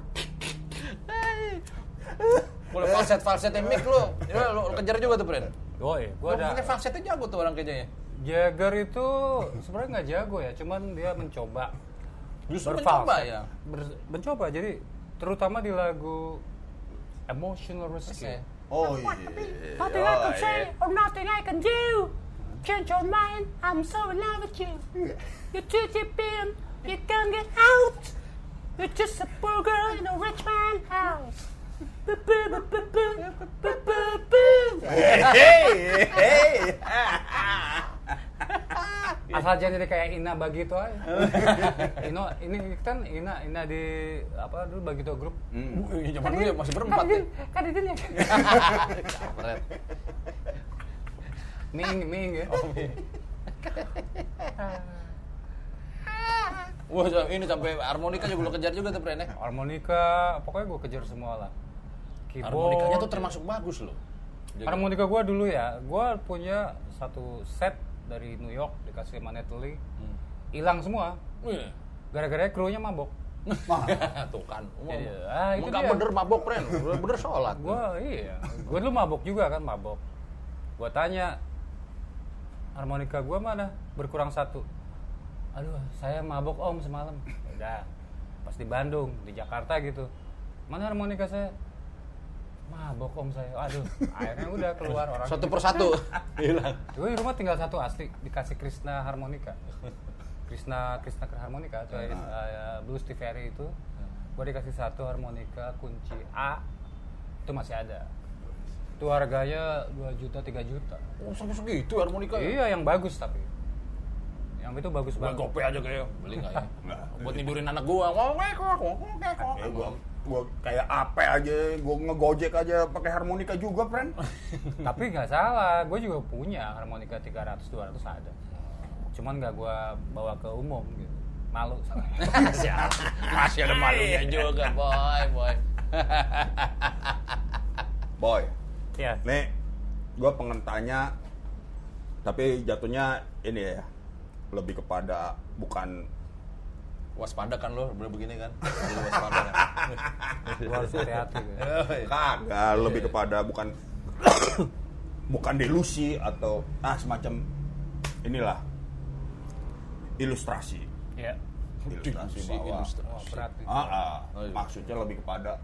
Boleh falset falsetnya mic lu. Ya, lu, lu kejar juga tuh, friend. Oh iya, gue Gua ada. pakai falsetnya jago tuh orang kayaknya. Jagger itu sebenarnya nggak jago ya, cuman dia mencoba. Justru berfalset. mencoba ya. Ber- mencoba, jadi terutama di lagu Emotional Rescue. Oke. Oh iya. Nothing I can say or nothing I can do. Change your mind, I'm so in love with you. You're too deep in, you can't get out. You're just a poor girl in a rich man's house. Boo, boo, boo, boo, boo, boo, boo, boo. Hey, hey. Asal jangan jadi kayak Ina Bagito aja. Ino, ini kan Ina, Ina di apa dulu Bagito Group. Hmm. Wih, zaman dulu ya masih berempat ya. Kan itu ya. Kampret. Ming, Ming ya. Oh, iya. Wah, ini sampai harmonika juga lo kejar juga tuh, Pren ya. Harmonika, pokoknya gue kejar semua lah. Keyboard. Harmonikanya tuh termasuk bagus loh. Jadi- Harmonika gue dulu ya, gue punya satu set dari New York dikasih sama Natalie, hilang semua. Wih. Gara-gara krunya mabok. Tuh kan. Iya, ah, itu Emang nggak dia. bener mabok, Pren. Bener, bener sholat. Gue iya, gue dulu mabok juga kan mabok. Gue tanya, harmonika gue mana? Berkurang satu. Aduh, saya mabok om semalam. Udah, pas di Bandung, di Jakarta gitu. Mana harmonika saya? Mabok om saya. Aduh, akhirnya udah keluar orang. Satu persatu hilang. Gue di rumah tinggal satu asli, dikasih Krishna harmonika. Krishna Krishna harmonika, coy, uh, Blues T V R I itu. Gue dikasih satu harmonika kunci A, itu masih ada. Itu harganya dua juta, tiga juta. Oh, sampai segitu harmonika ya? Iya, yang bagus tapi. Yang itu bagus Gua banget. gope aja kayak beli nggak ya? Nggak. Buat tidurin anak gua. Ngomong kok, ngomong kok. Ya gua gua kayak apa aja, gua ngegojek aja pakai harmonika juga, friend. Tapi nggak salah, gue juga punya harmonika tiga ratus dua ratus ada. Cuman nggak gue bawa ke umum gitu. Malu. Masih ada malunya juga, boy, boy. Boy, Ya. nih gua pengen tanya, tapi jatuhnya ini ya, lebih kepada bukan Waspada kan lo, bener begini kan? Jadi waspada kan? Gue harus hati-hati gitu. kagak, lebih kepada bukan bukan delusi atau ah semacam inilah ilustrasi. Ya. Ilustrasi Si bahwa ilustrasi. Wah, berat nih. Ah, ah, Oh, iya. maksudnya lebih kepada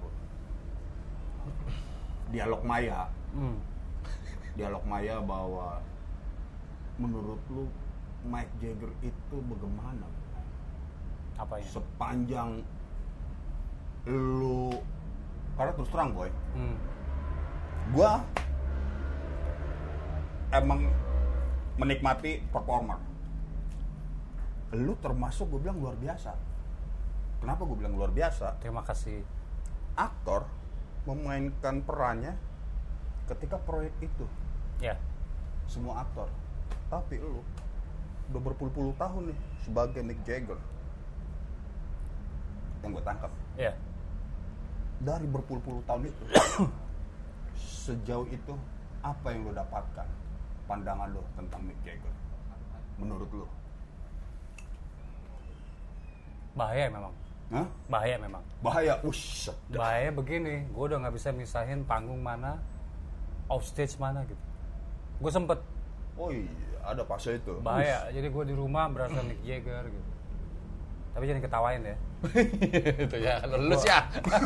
dialog maya, Hmm. dialog maya bahwa menurut lu Mick Jagger itu bagaimana? Apa ya? Sepanjang lu, karena terus terang boy, Hmm. gua emang menikmati performer. Lu termasuk gue bilang luar biasa. Kenapa gue bilang luar biasa? Terima kasih. Aktor memainkan perannya ketika proyek itu, Ya. semua aktor. Tapi lu udah berpuluh-puluh tahun nih sebagai Mick Jagger. Yang gue tangkap Ya. dari berpuluh-puluh tahun itu, sejauh itu apa yang lo dapatkan, pandangan lo tentang Mick Jagger menurut lo? Bahaya memang. Hah? Bahaya memang. Bahaya, ush. Bahaya begini, gue udah nggak bisa misahin panggung mana, off stage mana gitu. Gue sempet Oh iya, ada fase itu. bahaya. Jadi gue di rumah berasa Mick Jagger gitu. Tapi jangan ketawain ya. Itu ya, lulus ya.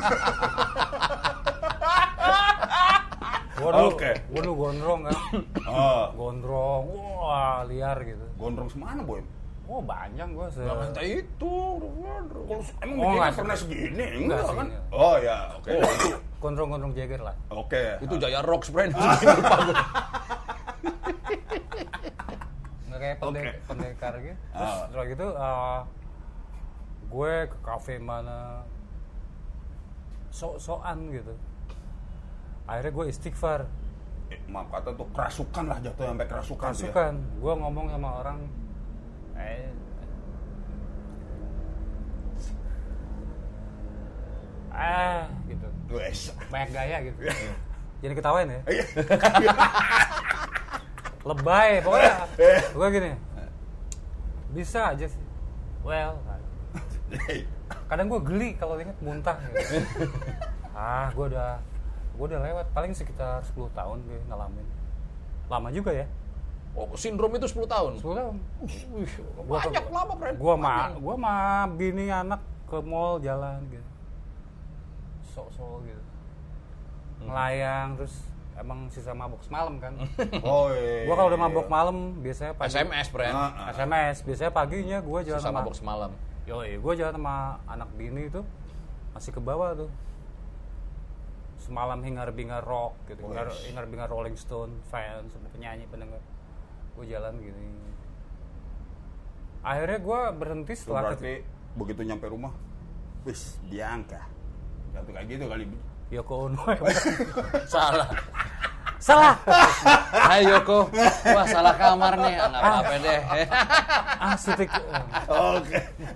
Gue dulu, Oke. gue dulu gondrong kan. Ah, Gondrong, wah liar gitu. gondrong semana boy? Oh banyak gue se. Nah, kata itu. Kalau emang Oh, Mick Jagger nggak pernah segini? Enggak Enggak kan? segini. Oh ya, oke. Oh, itu, Gondrong-gondrong Jagger lah. Oke. itu Jaya Rocks, friend. Lupa gua. Nggak kayak pendek, Oke. pendekar gitu. Terus Ah. setelah gitu uh, gue ke kafe mana sok-sokan gitu. Akhirnya gue istighfar. Eh, maaf kata tuh kerasukan lah, jatuh sampai kerasukan. tuh ya. Kerasukan. Gue ngomong sama orang, eh ah gitu. Wes. Banyak gaya gitu. Jangan ketawain ya. Iya. Lebay pokoknya. Gue gini. Bisa aja sih. Well, kadang gue geli kalau inget muntah gitu. Ah, gue udah gue udah lewat paling sekitar sepuluh tahun gue ngalamin. Lama juga ya. Oh, sindrom itu sepuluh tahun. sepuluh tahun. Wih, Gua banyak ke- lama, friend. Gua ma, Panjang. gua ma bini anak ke mall jalan gitu. Sok-sok gitu. Ngelayang terus emang sisa mabok semalam kan. Oh iya. Gua kalau udah mabok malam biasanya pagi. S M S, friend. Ah, S M S biasanya paginya gua jalan Sisa sama mabok semalam. Yoi, gua jalan sama anak bini itu masih ke bawah tuh. Semalam hingar-bingar rock gitu, hingar- hingar-bingar Rolling Stone, fans, sama penyanyi, pendengar. Gue jalan gini. Akhirnya gue berhenti Itu setelah berarti begitu nyampe rumah, wis Bianca. Jatuh kayak gitu kali. Yoko Ono. Salah. Salah. Hai Yoko. Wah, salah kamar nih. Enggak apa-apa deh. Ah, sutik. Oke.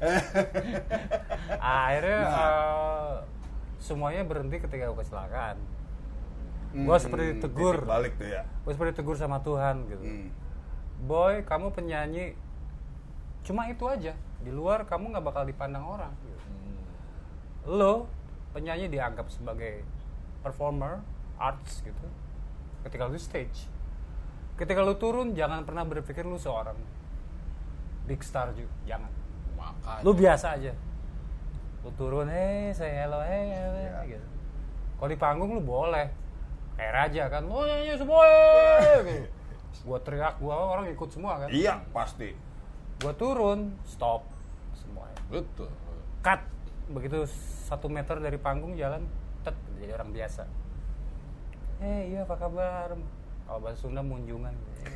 Akhirnya eh, semuanya berhenti ketika gue kecelakaan. Gue seperti ditegur. Titik balik tuh ya. Gue seperti ditegur sama Tuhan gitu. Hmm. Boy, kamu penyanyi, cuma itu aja. Di luar kamu nggak bakal dipandang orang. Gitu. Lo penyanyi dianggap sebagai performer, arts gitu. Ketika lu stage, ketika lu turun jangan pernah berpikir lu seorang big star juga, jangan. Makanya. Lu biasa aja. Lu turun, hey, say hello, hey, hey, Iya. gitu. Kalau di panggung lu boleh kayak raja kan, oh nyanyi semua, hey, gitu. Gua teriak, gua orang ikut semua kan. Iya, pasti. Gua turun, stop semuanya. Betul. Cut. Begitu satu meter dari panggung jalan, tet jadi orang biasa. Eh iya apa kabar? Kalau bahasa Sunda munjungan.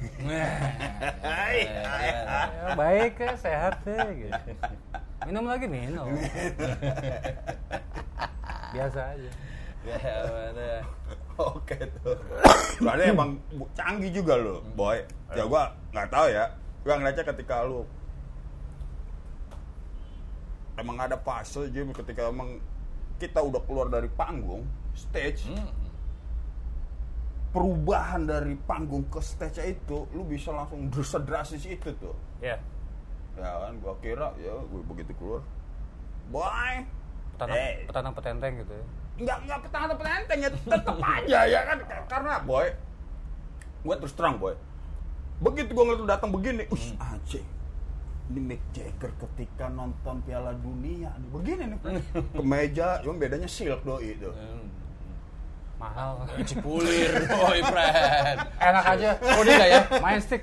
Ya, baik ya, sehat ya gitu. Minum lagi minum. Biasa aja. Ya, mana. Oke tuh. Berarti emang bu- canggih juga lo, boy. Ya gua nggak tahu ya. Gua ngeliatnya ketika lu emang ada fase Jim ketika emang kita udah keluar dari panggung, stage. Hmm. Perubahan dari panggung ke stage itu, lu bisa langsung sedrastis itu tuh. Ya. Ya kan, gua kira ya gua begitu keluar, boy. Petanang, Eh. petanang petenteng gitu ya. Nggak nggak petang petenteng ya tetep aja ya kan, karena boy, gue terus terang boy, begitu gue ngeliat lu datang begini, us anjing, ini Mick Jagger ketika nonton Piala Dunia nih begini nih, kemeja, cuma bedanya silk doi itu. Mahal. Cipulir, boy, friend. Enak aja. Oh, dia nggak ya? Main stick.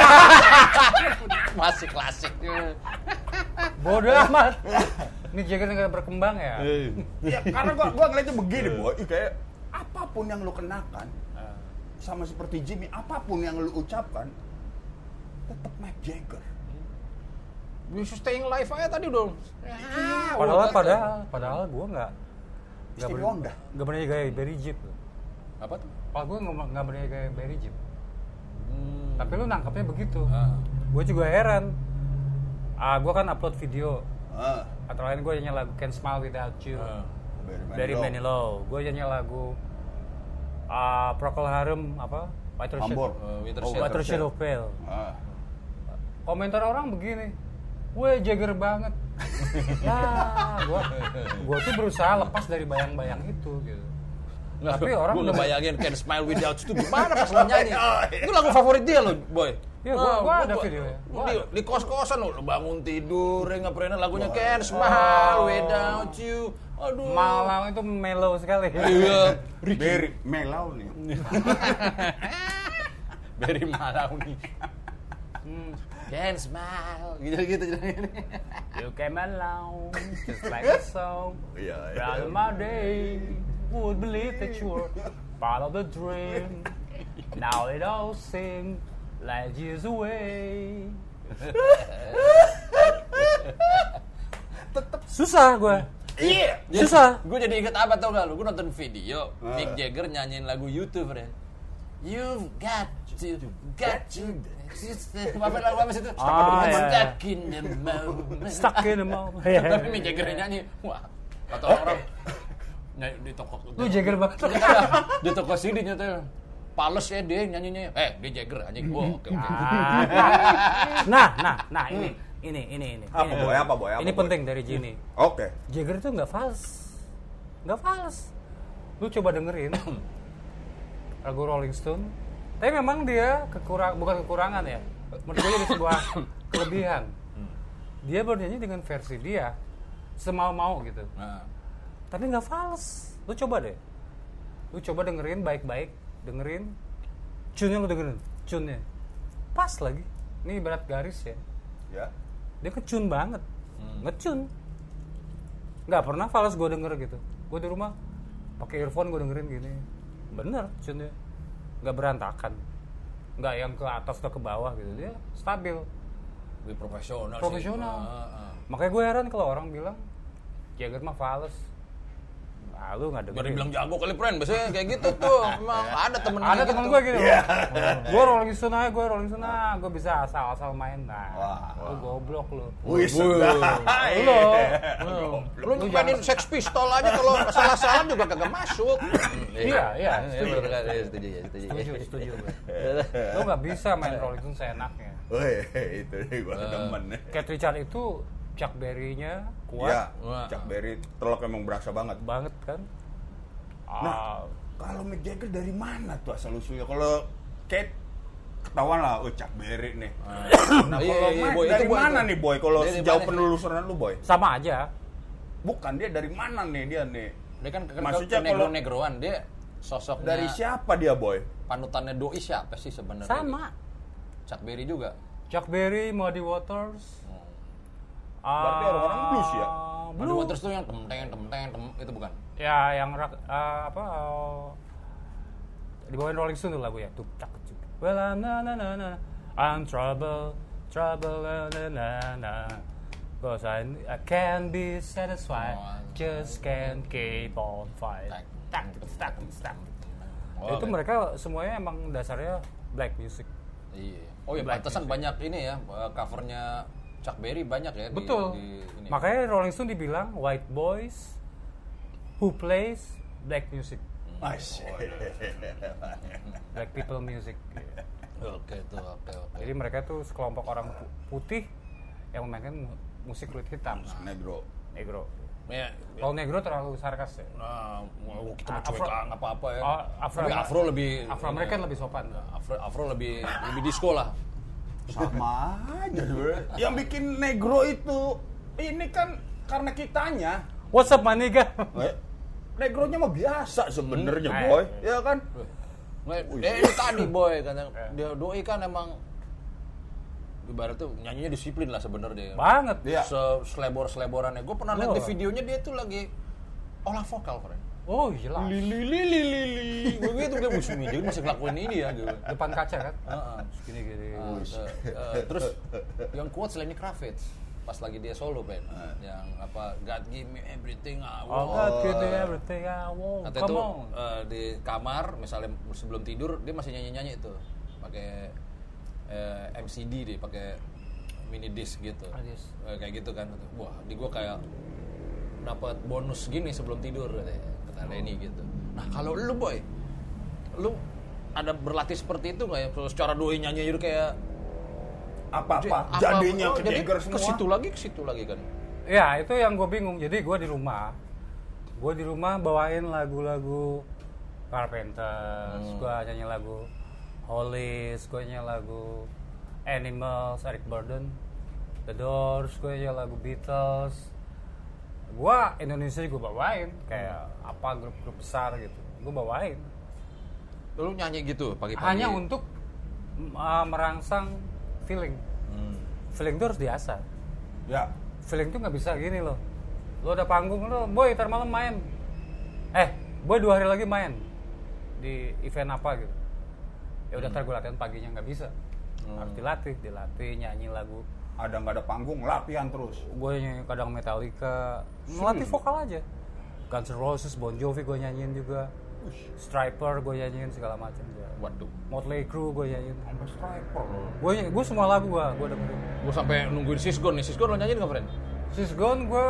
Masih klasik. Bodoh amat. Ini Jagger nggak berkembang ya. Ya karena gue gue ngeliatnya begini boy, kayak apapun yang lu kenakan, sama seperti Jimmy, apapun yang lu ucapkan, tetap Mick Jagger. Bisa staying live aja tadi dong. Ya, Padahal udah, padahal padahal gue nggak nggak Stevie ber- Wonder. nggak berani gaya Barry Jeep. Apa tuh? Kalau gue nggak nggak berani gaya Barry Jeep. Hmm. Tapi lu nangkapnya begitu. Ah. Gue juga heran. Ah, gue kan upload video. Ah, Antara lain gue nyanyi lagu Can't Smile Without You Ah. dari Manilow. Manilow. Gue nyanyi lagu ah Procol Harum apa? Whiter Shade, Ambor. Uh, Winter Oh, Shade. Whiter Shade of Pale. Ah. Komentar orang begini, weh Jagger banget. Ya, gua, gua tuh berusaha lepas dari bayang-bayang itu gitu. Nggak, Tapi orang gue udah- ngebayangin Can't Smile Without You itu gimana pas lo nyanyi. Itu lagu favorit dia loh, boy. Iya, gua- Ah, gua ada videonya. Gua Di, ada. di kos-kosan lo, lo bangun tidur, ya nggak pernah lagunya Can't Smile Without You. Aduh. Malang itu mellow sekali. Iya. Berry Melau nih. Dari Malau nih. Hmm. Can't smile, gitu-gitu. You came along, just like a song. Iya, iya. Proud of my day, would believe that you were part of the dream. Now it all seems like years away. Susah gue. Iya. Susah. Gue jadi inget apa tau gak lu? Gue nonton video Mick Jagger nyanyiin lagu YouTube, friend. You've got to, got to. Apa lagu apa sih itu? Ah, iya. Stuck in the moment. Stuck in the moment. Tapi Mick Jagger nyanyi, wah, kata orang nyanyi di toko. Lu Jagger banget. Dia kan di toko C D nyetel. Pales ya dia nyanyinya. Eh, dia Jagger anjing. Wah, oke oke. Nah, nah, nah ini, ini, ini, ini. Apa, ini. Boy? Apa, Boy? Apa, Ini Boy? penting dari Gini. Oke. Jagger itu nggak fals, nggak fals. Lu coba dengerin lagu Rolling Stone, Tapi memang dia kekurang bukan kekurangan ya. Menurut gue jadi sebuah kelebihan. Dia bernyanyi dengan versi dia semau-mau gitu. Nah. Tapi nggak fals. Lu coba deh. Lu coba dengerin baik-baik, dengerin tune-nya lu dengerin, tune-nya. Pas lagi. Ini ibarat garis ya. Ya. Dia kecun banget. Hmm. Ngecun. Nggak pernah fals gue denger gitu. Gue di rumah pakai earphone gue dengerin gini. Bener tune-nya. Nggak berantakan. Nggak yang ke atas atau ke bawah gitu. Dia stabil. Lebih profesional, Profesional. sih. Ah, ah. Makanya gue heran kalau orang bilang Jagger mah fals. Ah, lu nggak Biar dengerin. dibilang jago kali friend, biasanya kayak gitu tuh. Emang ada temen Ada kayak temen gitu. gue gitu. Gue Rolling Stone aja, gue Rolling Stone aja. Gue bisa asal-asal main. Nah, Wah. lu goblok lu. Wih, Wuh. sedap. Lu. Lu mainin Sex Pistol aja kalau salah-salah juga kagak masuk. Iya, iya, setuju. setuju. Setuju, ya, setuju. Setuju, setuju gue. Lu nggak bisa main Rolling Stone seenaknya. Wih, itu nih gue Eh. demen. Keith Richards itu Chuck Berry-nya kuat Ya, Wah. Chuck Berry telok emang berasa banget. banget kan. Nah, Ah, kalau Mick Jagger dari mana tuh asal usulnya? Kalau Kate ketahuan lah, oh Chuck Berry nih. Nah, Iya, kalau iya, Mike Boy, itu dari Boy mana itu. nih Boy? Kalau Dia dari sejauh mana? penelusuran lu Boy? sama aja. Bukan, dia dari mana nih dia nih? Dia kan ke, Maksudnya ke kalau- negro-negroan, dia sosoknya Dari siapa dia Boy? panutannya doi siapa sih sebenarnya? Sama. Chuck Berry juga. Chuck Berry, Muddy Waters. Berarti Ah, orang-orang blues ya? Muddy Blues. Waters tuh yang temteng temteng tem itu bukan? Ya, yang rak, ah, apa? ah, dibawain Rolling Stone tuh lagu ya. Tuh, cak, cuk. Well, I'm na na na na. I'm trouble, trouble, na na na na. Cause I, I can't be satisfied, Oh, just can't keep on fight. Tak, tak, tak. Oh, Itu oke. mereka semuanya emang dasarnya black music. Iya. Oh ya, Black pantesan music. banyak ini ya, eh, covernya Chuck Berry banyak ya. di- Betul. Di, ini. Makanya Rolling Stone dibilang white boys who plays black music, Mas. black people music. Oke tuh, oke oke. Jadi mereka tuh sekelompok orang pu- putih yang memainkan mu- musik kulit hitam, Negro. negro. Ya, Kalau negro terlalu sarkas ya. nah, mau kita mau Afro- cuek nggak apa-apa ya. Oh, Afro- Tapi Afro lebih Afro American lebih sopan. Afro Afro lebih lebih disco lah. Sama aja dulu. Yang bikin negro itu ini kan karena kitanya. What's up, my nigga? Eh, Negronya mah biasa sebenarnya Hmm. Boy, ya kan? Nah, eh, ini tadi boy kan yang dia doi kan emang ibarat tuh nyanyinya disiplin lah sebenarnya. Banget. Iya. Selebor-seleborannya. Gue pernah lihat Oh. di videonya dia tuh lagi olah vokal, friend. Oh gila. Lili lili lili. Gue gitu dia musuh jadi masih ngelakuin ini ya gitu. Depan kaca kan? Heeh. Gini gini. Ah, se- eh, terus yang kuat selain Lenny Kravitz pas lagi dia solo Ben, yang apa God give me everything I Oh, want. God, give me everything I want. Kata Come itu on. eh, di kamar misalnya sebelum tidur dia masih nyanyi-nyanyi itu pakai eh, M C D deh, pakai mini disc gitu. Ah, disc. Eh, kayak gitu kan. Wah, di gua kayak dapat bonus gini sebelum tidur katanya. Kata Lenny gitu. Nah, kalau lu boy, lu ada berlatih seperti itu nggak ya? Kalau secara doi nyanyi itu kayak Apa-apa Apa- jadinya oh, ke jadi Jagger ke semua. situ lagi ke situ lagi kan. Ya itu yang gue bingung. Jadi gue di rumah, gue di rumah bawain lagu-lagu Carpenters, Hmm. gue nyanyi lagu Hollies, gue nyanyi lagu Animals, Eric Burden, The Doors, gue nyanyi lagu Beatles. Gue Indonesia gue bawain kayak apa grup-grup besar gitu, gue bawain. Lu nyanyi gitu pagi-pagi. Hanya untuk uh, merangsang feeling. Hmm. Feeling itu harus diasah. Ya. Feeling tuh nggak bisa gini loh. Lo ada panggung lo, boy ntar malam main. Eh, boy dua hari lagi main di event apa gitu. Ya udah ntar gue latihan paginya, nggak bisa. Harus dilatih, dilatih nyanyi lagu. Ada nggak ada panggung, latihan terus. Gue nyanyi kadang Metallica, melatih vokal aja. Guns N' Roses, Bon Jovi gue nyanyiin juga. Striper gue nyanyiin segala macam. Waduh. Motley Crue gue nyanyiin. Sampai Striper. Gue gue semua lagu gue gue dengerin. Gue sampai nungguin Sisgon nih. Sisgon lo nyanyiin nggak, friend? Sisgon gue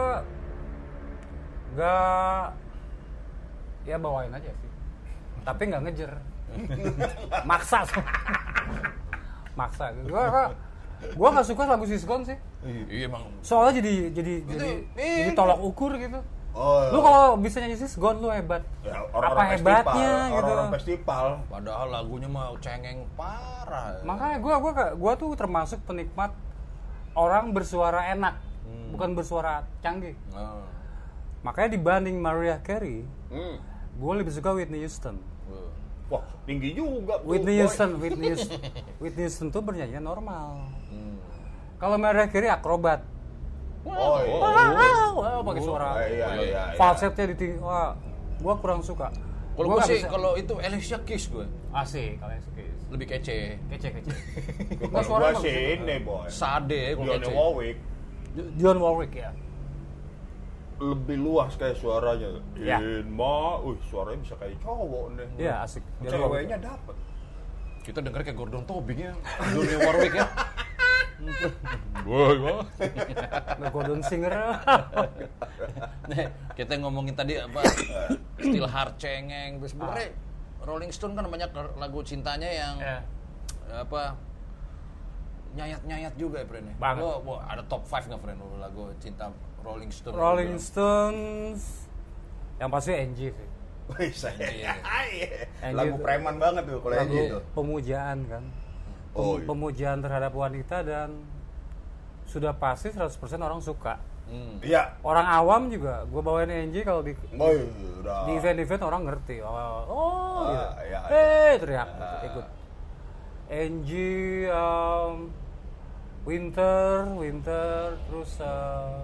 nggak ya bawain aja sih, tapi nggak ngejer, maksa, maksa. Gue gue nggak suka lagu Sisgon sih, Iya emang. soalnya jadi jadi jadi eh, jadi tolak ukur gitu. Oh, Lu kalau bisa nyanyi sis gone lu hebat. ya, Apa hebatnya gitu. Orang-orang festival. Padahal lagunya mah cengeng parah. Makanya gua gua gua tuh termasuk penikmat orang bersuara enak, Hmm. bukan bersuara canggih. Oh. Makanya dibanding Mariah Carey, Hmm. gue lebih suka Whitney Houston. Oh. Wah, tinggi juga tuh, Whitney boy. Houston, Whitney Houston, Whitney Houston tuh bernyanyi normal. Hmm. Kalau Mariah Carey akrobat. Oh, iya. Wow, wow, pakai suara. Oh, iya, iya, iya. Falsetnya di tinggi. Wah, gua kurang suka. Kalau Gua gue nggak sih, bisa- kalau itu Alicia Keys gue asik, kalau asik. lebih kece. Kece kece. Kalau suara gua bagus. sih ini, boy. Sade kalau Dionne kece. Warwick Dionne Warwick ya. lebih luas kayak suaranya. Ya. Inma, uh, suaranya bisa kayak cowok nih. Iya, asik. Dionne Warwick. Ceweknya dapet. Kita denger kayak Gordon Tobing ya. Dionne Warwick ya. Boy, boy. Nggak Gordon Singer. Nih, kita ngomongin tadi apa still hard cengeng. Terus sebenarnya Rolling Stone kan banyak lagu cintanya yang Ya. apa nyayat-nyayat juga ya, friend. Banget. Lo, lo ada top lima nggak, friend, lo lagu cinta Rolling Stone? Rolling Stones yang pasti Angie sih. Wih, saya. Iya. Angie Lagu itu- preman banget tuh kalau Lagu Angie itu. pemujaan kan. Pem- Oh, iya. Pemujaan terhadap wanita dan sudah pasti seratus persen orang suka. Hmm. Iya. Orang awam juga, gue bawain Angie kalau di Oh, iya, udah. di event-event orang ngerti. Oh, oh Ah, gitu. iya, Eh, teriak gitu, ikut. Angie, um, Winter, Winter, terus uh,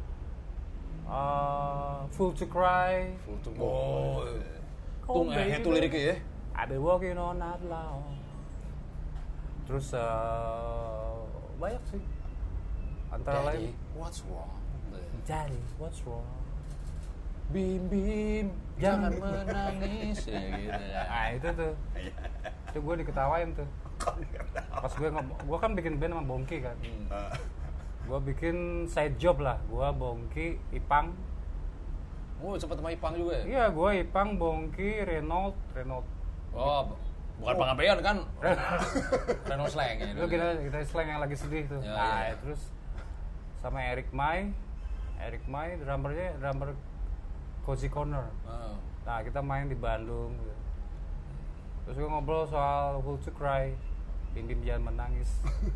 uh, Full to Cry. Full to oh. Oh, Tuh ngehe baby. tuh liriknya ya. I've been walking on that long. Terus uh, banyak sih. Antara Daddy, lain, what's wrong? Daddy, what's wrong? Bim bim, jangan menangis ya gitu ya. Nah itu tuh, itu gue diketawain tuh. Pas gue ngomong, gue kan bikin band sama Bongki kan. Gue bikin side job lah, gue Bongki, Ipang. Oh, sempat sama Ipang juga ya? Iya, gue Ipang, Bongki, Renault, Renault. Oh, bukan Pangabean kan? Renault Slang ya. Itu kita kita slang yang lagi sedih tuh. Ya, nah, ya. terus sama Eric Mai, Eric Mai drummernya drummer Cozy Corner. Oh. Nah, kita main di Bandung. Gitu. Terus gue ngobrol soal Full to Cry, Bim Bim Jangan Menangis.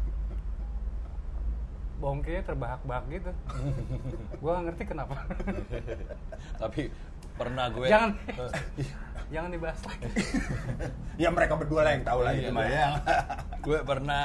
Bongkinya terbahak-bahak gitu. Gue gak ngerti kenapa. Tapi pernah gue Jangan, jangan dibahas lagi. Ya mereka berdua lah yang tahu lah Iya, itu mah iya. ya. gue pernah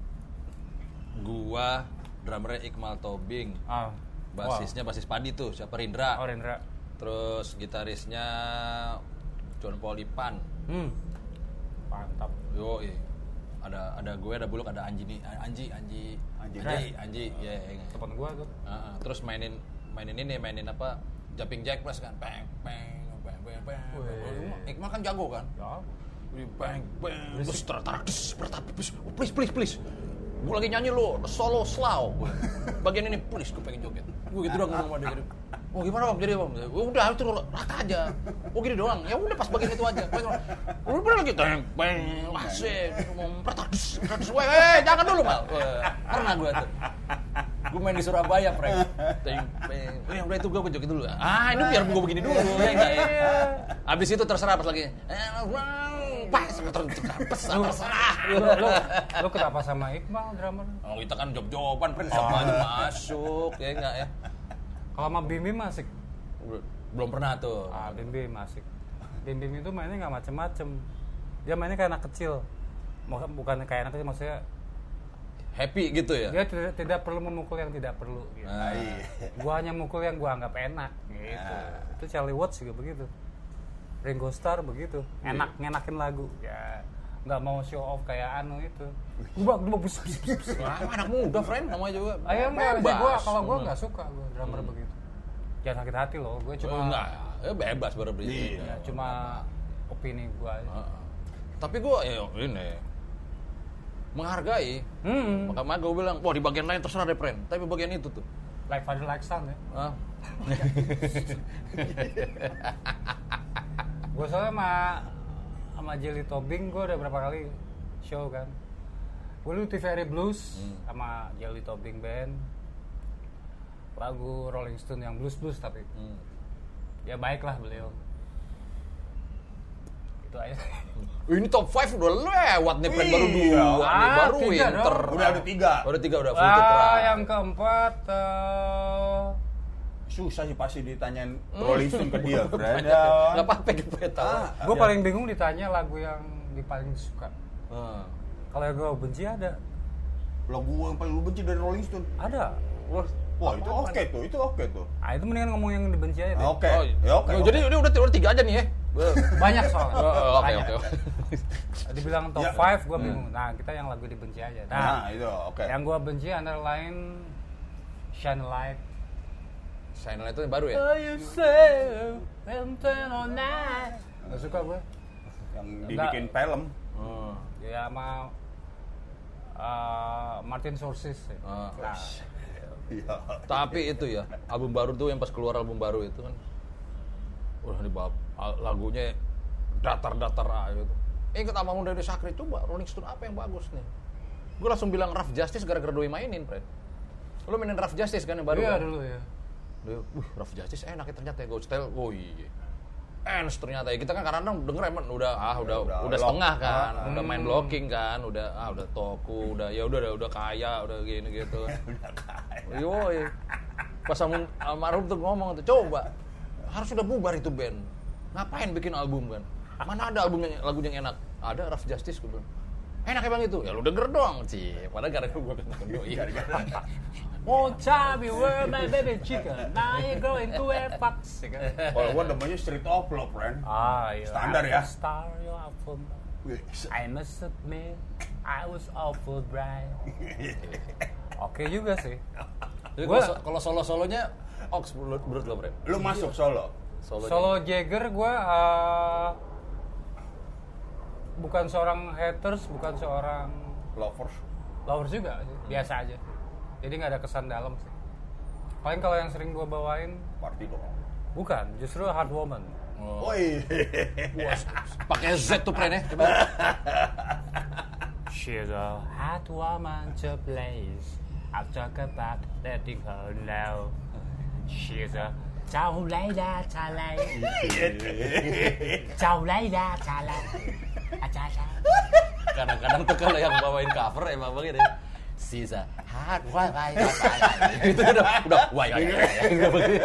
gua drummernya Iqmal Tobing, Ah, basisnya basis Padi tuh, siapa Rindra. wow. Oh, Rendra. Terus gitarisnya John Paul Ipan. Hmm. Mantap. Yo, ada ada gue, ada Buluk, ada Anji nih, Anji, Anji, Anji. Anji, Anji, ya. ya. Temen gue tuh. Nah, terus mainin mainin ini, mainin apa? Jumping Jack Flash kan, peng, peng, peng, peng, peng. Wih. Iqmal kan jago kan? Ya. Wih, bang, bang, terus tertarik, please, please, please, please. Gue lagi nyanyi lo, solo slow. Bagian ini, please, gue pengen joget. Gue gitu doang ngomong sama dia. Oh gimana bang, jadi bang? Oh, udah, itu rata aja. Oh gini doang, ya udah pas bagian itu aja. Udah pernah lagi, bang, bang, masih, ngomong tertarik, tertarik. Weh, weh, jangan dulu mal. Pernah gue tuh. Gue main di Surabaya, Frank. Bang, bang, eh udah itu gue joget dulu. Ah, ini biar gue begini dulu. Ya, enggak, ya. Abis itu terserah pas lagi. Pas, terserah. Lu, lu, lu kenapa sama Iqbal drummer? Oh, kita kan job-joban, Frank. Siapa aja masuk, ya enggak ya? Kalau sama Bim Bim asik. Belum pernah tuh. Ah, Bim Bim asik. Bim Bim itu mainnya nggak macem-macem. Dia mainnya kayak anak kecil. Maksud- Bukan kayak anak kecil, maksudnya Happy gitu ya? dia tidak, tidak perlu memukul yang tidak perlu. Gitu. Nah, Gua hanya mukul yang gua anggap enak. Gitu. Itu Charlie Watts juga begitu. Ringo Starr begitu. Enak ngenakin lagu. Ya nggak mau show off kayak anu itu. Gua gua bus bus bus. Wah, anak muda, friend, namanya juga. Ayo enggak sih, gua kalau gua Hmm. nggak suka gua drummer begitu. Jangan sakit hati loh. Gua cuma Oh, enggak, ya bebas berbeda. ya, cuma opini gua aja. Heeh. Tapi gue ya ini menghargai. Hmm. Makanya gue bilang, wah di bagian lain terserah deh, friend. Tapi bagian itu tuh. Like father like son ya. Ah. Gue soalnya sama sama Jelly Tobing gue udah berapa kali show kan. Gue dulu T V R Blues Hmm. sama Jelly Tobing band. Lagu Rolling Stone yang blues blues tapi Hmm. ya baiklah beliau. Itu aja. Ini top lima udah lewat nih, Pren. Baru Iya. dua nih, Ah, baru tiga Winter. dong. Udah ada tiga. Udah tiga, udah full Ah, citra. yang keempat uh, Susah sih pasti ditanyain Rolling Stone ke dia, Fred. Banyak Ya. ya. Nggak apa-apa kita tahu. Ah, gue ya. paling bingung ditanya lagu yang di paling suka. Ah. Kalau yang gue benci ada, Lagu yang paling lu benci dari Rolling Stone. ada. Wah, Wah, itu oke tuh, itu oke tuh. Ah itu mendingan ngomong yang dibenci aja deh. Oke. Oh, Ya oke. oh, oke. jadi ini udah udah tiga aja nih ya. Banyak soalnya. Oh, oh, Oke, Banyak. oke, oke. Dibilang top Ya. lima gue bingung. Nah kita yang lagu dibenci aja. Nah, Nah, itu oke. yang gue benci antara lain Shine Light. Shine Light itu yang baru ya? Oh, you say, and turn on night. Gak suka gue. Yang dibikin film. Oh. Ya sama uh, Martin Scorsese. Ah. Nah, Iya. Tapi itu ya, album baru tuh yang pas keluar album baru itu kan, udah nih bab, al- lagunya datar-datar aja gitu. Ingat sama Muda Sakri, coba Rolling Stone apa yang bagus nih? Gue langsung bilang Rough Justice gara-gara doi mainin, Fred. Lu mainin Rough Justice kan yang baru iya kan? dulu ya. Dia, wih Rough Justice enak ya ternyata ya, Ghost Style, oh iya. Ends ternyata ya, kita kan kadang-kadang denger emang udah ah udah udah udah, lock. setengah kan, Ah, udah main blocking kan, udah ah udah toku, udah ya udah udah, udah kaya, udah gini gitu. Yoi. Pas sama almarhum tuh ngomong tuh, coba harus udah bubar itu band. Ngapain bikin album kan? Mana ada album yang lagu yang enak? Ada Rough Justice gue bilang. Enak ya bang itu? Ya lu denger dong, Ci. Padahal gara-gara gue ketemu doi. Won't tell me where my baby chicken. Now you going to wear fox. Kalau gua namanya Street of Love, friend. Ah iya. Standar ya. Star you awful. I must admit, I was awful bright. Oke juga sih. Jadi Gua- kalau so- kalau solo-solonya Ox menurut menurut lo, Bren? Lu masuk solo. Solonya. Solo Jagger gue uh, bukan seorang haters, bukan seorang Lovers. lovers juga sih. Biasa aja. Jadi nggak ada kesan dalam sih. Paling kalau yang sering gue bawain Party dong. bukan, justru Hard Woman. Oh. Woi. Pakai Z tuh, Bren ya. Coba. She's a hot woman to place. I'll talk about letting her know. She's a Chào lấy ra chà lấy. Chào lấy ra chà lấy. Ah, chà chà. Kadang-kadang tuh kalau yang bawain cover emang begini. Sisa hard why why itu udah udah why why udah begini.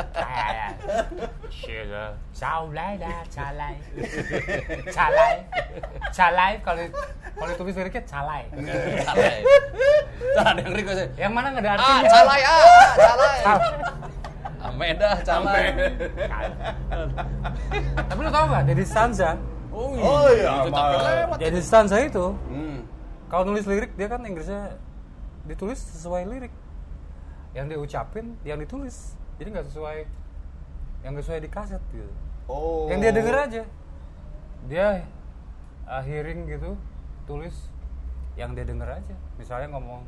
She's a Chào lấy ra chà lấy. Chà lấy. Chà lấy kalau kalau tulis liriknya calai. Calai. Tuh ada yang request. Yang mana nggak ada Ah, artinya? calai ah, ah, calai. Cal. Amedah calai. Tapi lu tau nggak? Dedi Stanza. Oh Oh iya, itu capek mal. lewat. Dedi Stanza itu Hmm. kalau nulis lirik dia kan Inggrisnya ditulis sesuai lirik. Yang dia ucapin, yang ditulis. Jadi nggak sesuai yang nggak sesuai di kaset gitu. Oh. Yang dia denger aja. Dia uh, hearing gitu, tulis yang dia denger aja. Misalnya ngomong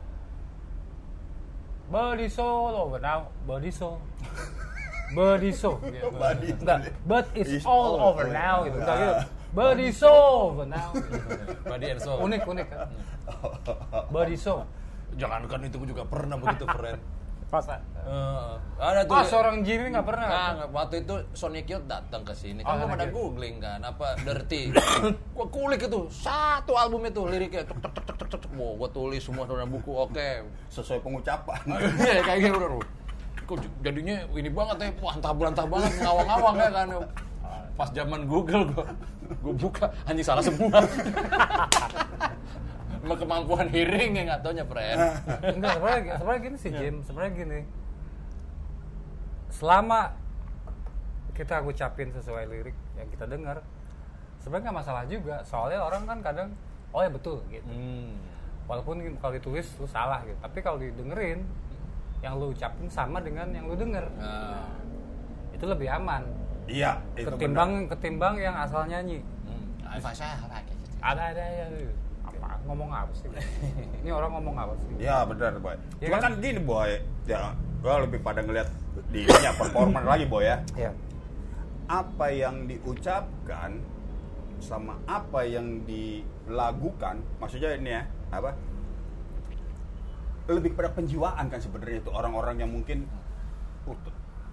body soul over now, body soul. Body soul. Gitu. Body. Enggak, but it's It's all all over over now now. gitu. Enggak gitu. Body soul over now. Gitu. Body and soul. Unik, unik kan. Body soul. Jangankan itu gue juga pernah begitu, keren. Pas. Uh, ada tuh. Ah, seorang Jimmy nggak pernah. Nah, waktu itu Sonic Youth datang ke sini. Kan Oh, gua pada Sonic Youth. googling kan apa Dirty. Gua kulik itu satu album itu liriknya tek tek tek tek tek tek. Wow, gua tulis semua dalam buku. Oke. Sesuai pengucapan. Iya kayak gitu bro. Kok j- jadinya ini banget ya, wah antah-berantah banget, ngawang-ngawang ya kan. Pas zaman Google gua, gua buka, anjing salah semua. Emang kemampuan hearing ya nggak taunya, friend. Enggak, sebenarnya sebenarnya gini sih Jim, sebenarnya gini. Selama kita ucapin sesuai lirik yang kita dengar, sebenarnya nggak masalah juga. Soalnya orang kan kadang, oh ya betul gitu. Hmm. Walaupun kalau ditulis lu salah gitu, tapi kalau didengerin, yang lu ucapin sama dengan yang lu denger, Nah. itu lebih aman. Iya, itu Ketimbang ketimbang yang asal nyanyi. Hmm. Fasa apa gitu. Ada ada ya. Apa ngomong apa sih? Ini orang ngomong apa sih? benar. Iya, benar, Boy. Iya Cuma kan? kan gini, Boy. Ya, gua lebih pada ngeliat di ya, performan lagi, Boy ya. Iya. Apa yang diucapkan sama apa yang dilakukan, maksudnya ini ya, apa? Lebih pada penjiwaan kan sebenarnya itu orang-orang yang mungkin uh,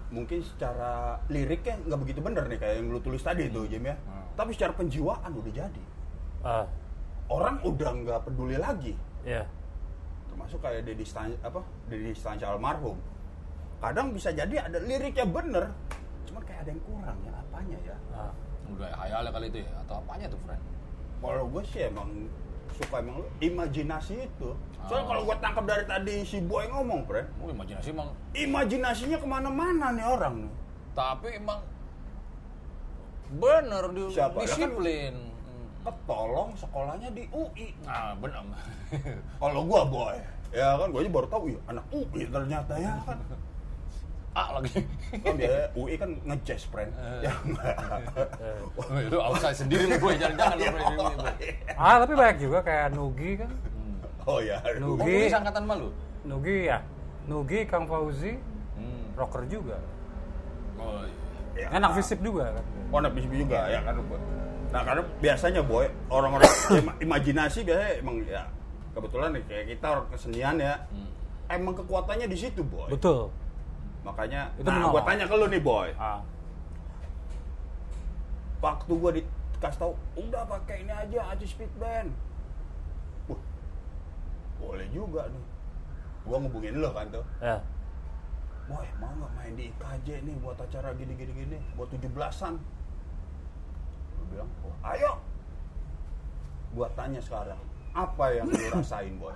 mungkin secara liriknya nggak begitu bener nih kayak yang lu tulis tadi tuh Jim ya. Hmm. Tapi secara penjiwaan udah jadi. Ah, Orang udah nggak peduli lagi. iya. Termasuk kayak Dedi Stan apa Dedi Stanca almarhum. Kadang bisa jadi ada liriknya bener, cuman kayak ada yang kurang ya apanya ya. Ah. Udah hayalnya kali itu ya atau apanya tuh, friend? Kalau gue sih emang suka emang imajinasi itu. Soalnya Oh. kalau gue tangkap dari tadi si Boy ngomong, Fred, Oh, imajinasi emang, imajinasinya kemana-mana nih orang nih. tapi emang bener di Siapa? disiplin. Hmm. Ketolong sekolahnya di U I. Ah, bener. Kalau gue Boy, ya kan gue aja baru tahu ya anak U I ternyata ya kan. Ah lagi. Kan biasanya U I kan nge-jazz, friend. Ya enggak. Oh, itu outside sendiri lu, Boy. Jangan-jangan lu, Iya, friend. Ah, tapi banyak juga kayak Nugi kan. Oh ya. Oh, Nugi. Nugi angkatan malu? Nugi ya. Nugi, Kang Fauzi, Hmm. rocker juga. Oh, iya. Ya, Enak visip juga kan. Oh, anak bisip juga ya kan. Nah, karena biasanya Boy, orang-orang ima- imajinasi biasanya emang ya kebetulan nih kayak kita orang kesenian ya. Hmm. Emang kekuatannya di situ, Boy. Betul. Makanya, Itu nah menolong. gue tanya ke lu nih, Boy. Ah. Waktu gue dikasih tahu, udah pakai ini aja, aja speed band. Wah, boleh juga nih. Gue ngubungin lo kan tuh. Ya. Boy, mau nggak main di I K J nih buat acara gini-gini gini, buat tujuh belasan? Gue bilang, oh, ayo. Gue tanya sekarang, apa yang lu rasain, Boy?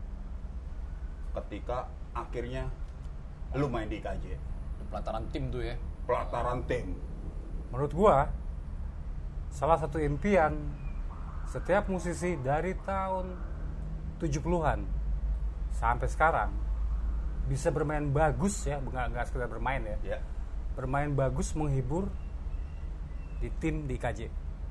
Ketika akhirnya lu main di I K J, Pelataran tim tuh ya. pelataran tim. Menurut gua salah satu impian setiap musisi dari tahun tujuh puluhan sampai sekarang bisa bermain bagus ya, nggak nggak sekedar bermain ya. Ya. Bermain bagus menghibur di tim di I K J.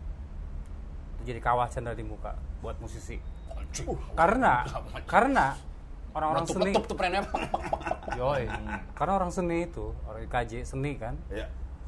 Itu jadi kawah cendera di muka buat musisi. Anjing. Karena karena orang-orang seni Letup-letup tuh friendnya. Yoi. Karena orang seni itu, orang I K J seni kan, Ya.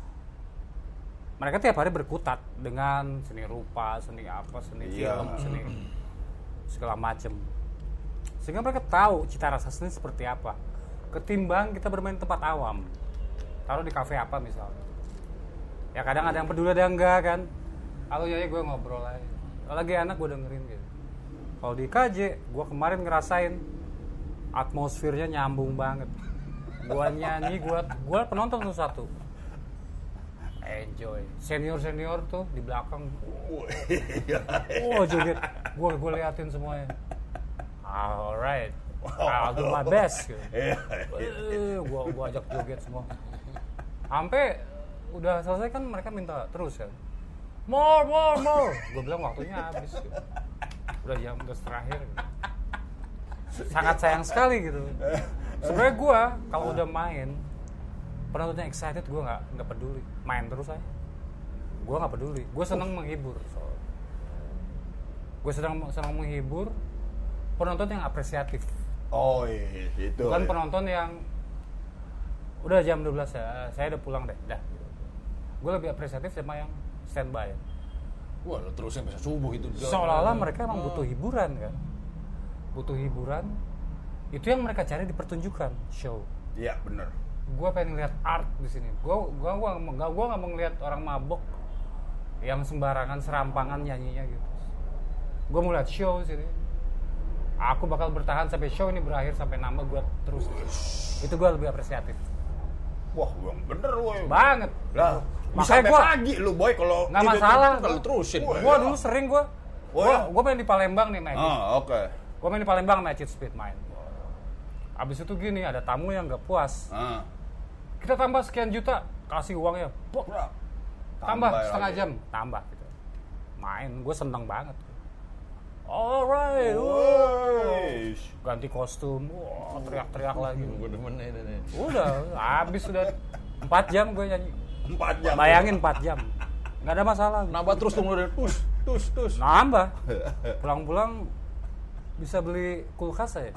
mereka tiap hari berkutat dengan seni rupa, seni apa, seni Iya. film, seni segala macem. Sehingga mereka tahu cita rasa seni seperti apa. Ketimbang kita bermain di tempat awam, taruh di kafe apa misalnya. Ya kadang ada yang peduli, ada yang enggak kan. Halo ya, gue ngobrol aja. Kalau lagi enak gue dengerin gitu. Kalau di I K J, gue kemarin ngerasain atmosfernya nyambung banget. Gua nyanyi, gua gua penonton tuh satu. Enjoy. Senior-senior tuh di belakang. Oh, joget. Gua gua liatin semuanya. Alright. I'll do my best. Gitu. Eh, gua gua ajak joget semua. Sampai udah selesai kan mereka minta terus kan. More, more, more. Gua bilang waktunya habis. Gitu. Udah jam udah terakhir. Gitu. Sangat sayang sekali gitu. Sebenarnya gue kalau udah main penontonnya excited, gue nggak nggak peduli, main terus aja. Gue nggak peduli, gue senang menghibur. So, gue senang senang menghibur penonton yang apresiatif. Oh iya, itu. Bukan ya. penonton yang udah jam dua belas ya, saya udah pulang deh, dah. Gue lebih apresiatif sama yang standby. Wah, lu terusin sampai subuh itu. Seolah-olah mereka emang butuh hiburan kan. Butuh hiburan, itu yang mereka cari di pertunjukan show. Iya, bener. Gue pengen lihat art di sini. Gue gua gua nggak gua nggak mau ngeliat orang mabok yang sembarangan serampangan nyanyinya gitu. Gue mau lihat show sini. Aku bakal bertahan sampai show ini berakhir, sampai nambah gue terus. Itu gue lebih apresiatif. Wah, yang bener woy. Banget. Lah, Makanya sampai gua- pagi lu boy kalau Nggak tidur masalah. tuh Kalau terusin. Wah, Gue iya. dulu sering gue. Oh, Gue ya? gue main di Palembang nih Magic. Ah, oke. Gue main di Palembang Magic Speed main. Abis itu gini, ada tamu yang nggak puas. Ah. Kita tambah sekian juta, kasih uangnya. Pok, Bro. tambah Tambah setengah lagi. jam, tambah gitu. Main, gue seneng banget. Alright, Woi. ganti kostum, wah teriak-teriak lagi. Gue demen ini nih. Udah, habis sudah empat jam gue nyanyi. Empat jam. Bayangin empat jam, nggak ada masalah. Nambah terus tuh mulai tus tus tus. Nambah, pulang-pulang bisa beli kulkas saya.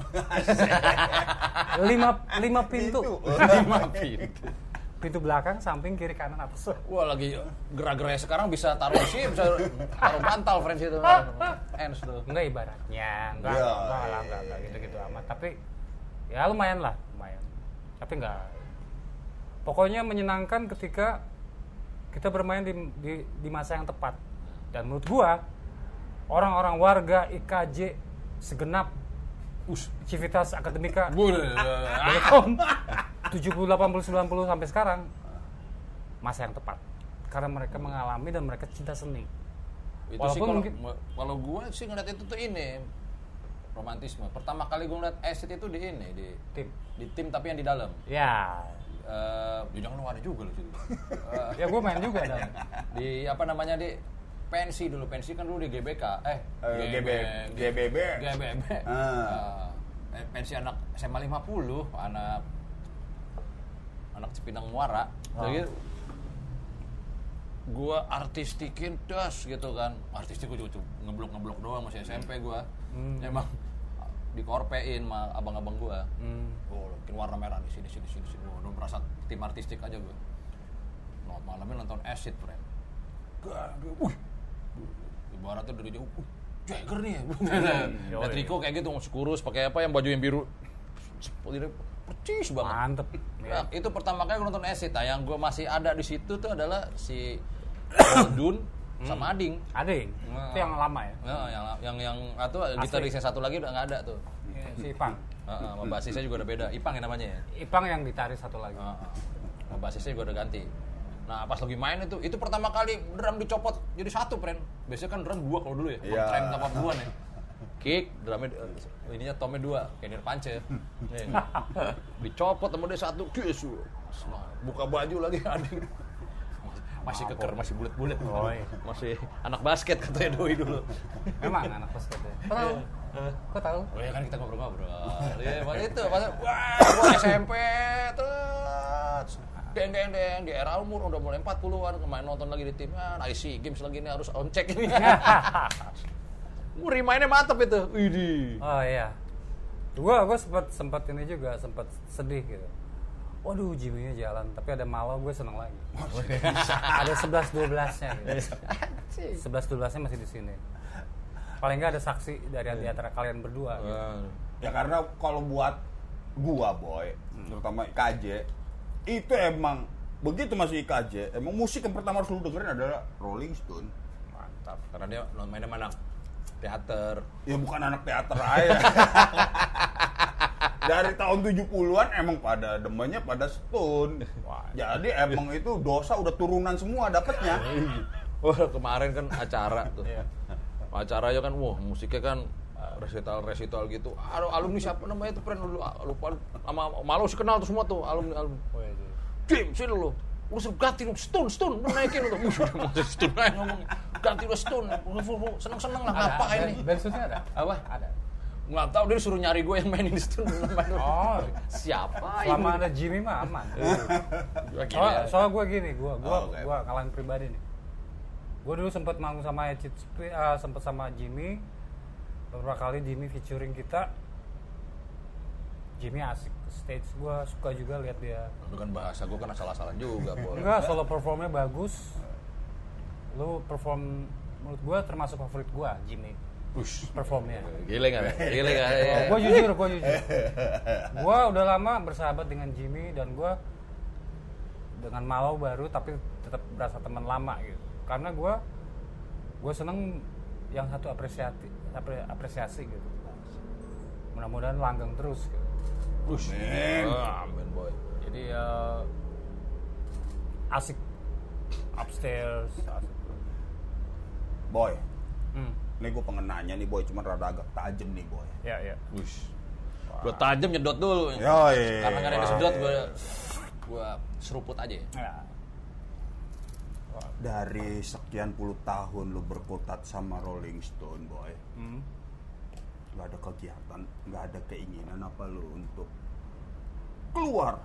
lima lima pintu, Lima pintu. pintu belakang, samping, kiri, kanan, atas. Wah, lagi gerak-geraknya sekarang bisa taruh sih, bisa taruh bantal friends itu. Ends tuh. Enggak ibaratnya, enggak, Ya, enggak lah, iya, enggak, enggak iya. gitu-gitu amat. Tapi ya lumayan lah, lumayan. Tapi enggak Pokoknya menyenangkan ketika kita bermain di, di, di masa yang tepat. Dan menurut gua, orang-orang warga I K J segenap us, Civitas Akademika Telekom tujuh puluh, delapan puluh, sembilan puluh sampai sekarang masa yang tepat. Karena mereka mengalami dan mereka cinta seni. Itu Walaupun sih kalau mungkin- kalau gue sih ngeliat itu tuh ini romantisme. Pertama kali gue ngeliat Acid itu di ini di Tim. di tim tapi yang di dalam. Ya, Eh, jangan lu ada juga loh situ. Eh, ya gua main juga dalam. di apa namanya di pensi dulu pensi kan dulu di G B K eh Eh, G B G B B. G B B Ah. Eh, pensi anak S M A lima puluh anak anak Cipinang Muara Oh. jadi gua artistikin das gitu kan artistik gua juga ngeblok ngeblok doang masih S M P gua Hmm. emang dikorpein sama abang-abang gua Hmm. oh bikin warna merah di sini sini sini sini oh, udah merasa tim artistik aja gua no, malamnya nonton Acid friend gak wih ibaratnya dari jauh uh, Jagger nih Yoi. Triko kayak gitu masih kurus pakai apa yang baju yang biru percis banget Mantep. ya, itu pertama kali gue nonton Acid nah yang gue masih ada di situ tuh adalah si Dun sama Ading Ading. Nah. Itu yang lama ya. nah, yang yang yang atau Asli. gitaris yang satu lagi udah nggak ada tuh Iya, si Ipang. Heeh, sama basisnya juga udah beda Ipang ya namanya ya Ipang yang ditarik satu lagi. Heeh. Sama basisnya juga udah ganti nah pas lagi main itu itu pertama kali drum dicopot jadi satu friend biasanya kan drum dua kalau dulu ya Iya. tren delapan puluhan ya kick drumnya uh, ininya tomnya dua kayak Nirpance nih dicopot sama dia satu kiss buka baju lagi Ading masih keker masih bulet-bulet Oh, iya. masih anak basket katanya Doi dulu Memang anak basket ya. Kok tahu? Kok tahu? oh ya kan kita ngobrol-ngobrol ya pas itu pas wah gua S M P terus deng deng deng di era umur udah mulai empat puluhan kemarin nonton lagi di tim ah I C games lagi ini harus on check ini gua remind-nya mantep itu widih Oh iya. Gua gua sempat sempat ini juga sempat sedih gitu. Waduh, Jimmy-nya jalan, tapi ada Malo gue seneng lagi. Ada sebelas dua belas-nya gitu. sebelas dua belas-nya masih di sini. Paling enggak ada saksi dari di antara kalian berdua gitu. Ya karena kalau buat gua boy, terutama I K J, itu emang begitu masuk I K J, emang musik yang pertama harus lu dengerin adalah Rolling Stone. mantap karena dia mainnya mana teater Ya bukan anak teater aja. Dari tahun tujuh puluhan emang pada demennya pada Stone. Wah. Jadi emang itu dosa udah turunan semua dapetnya. wah kemarin kan acara tuh acaranya kan wah musiknya kan resital resital gitu aduh alumni siapa namanya itu friend dulu lupa sama Malo sih kenal tuh semua tuh alumni alumni Jim sini lo lu suruh ganti lu Stone Stone lu naikin lu udah mau Stone aja ngomong ganti lu Stone seneng seneng lah ngapain nih Bensusnya ada? apa Ada. nggak tahu dia suruh nyari gue yang mainin di Stone Oh, siapa selama ada Jimmy mah aman. ini Soal, soal gue gini, gue gue Oh, oke. gue kalian pribadi nih. Gue dulu sempat manggung sama Ecit, uh, sempat sama Jimmy. Beberapa kali Jimmy featuring kita. Jimmy asik stage, gue suka juga lihat dia. lu kan bahasa gue kan asal-asalan juga boleh Enggak, solo performnya bagus. Lu perform menurut gue termasuk favorit gue, Jimmy. Ush. Performnya. Gile nggak? Gile nggak? Ya. Gue jujur, gue jujur. Gue udah lama bersahabat dengan Jimmy dan gue dengan Malo baru tapi tetap berasa teman lama gitu. Karena gue gue seneng yang satu apresiasi apre- apresiasi gitu. Mudah-mudahan langgeng terus. Gitu. Ush. Amin. Ah, amin boy. Jadi uh, asik upstairs. Asik. Boy, Hmm. ini gue pengen nanya nih boy, cuman rada agak tajem nih boy. Ya ya. Ush. Gua tajam nyedot dulu. Yoi. Karena nggak ada yang disedot gua gua seruput aja. Ya. Dari sekian puluh tahun lu berkutat sama Rolling Stone boy, Hmm. nggak ada kegiatan, nggak ada keinginan apa lu untuk keluar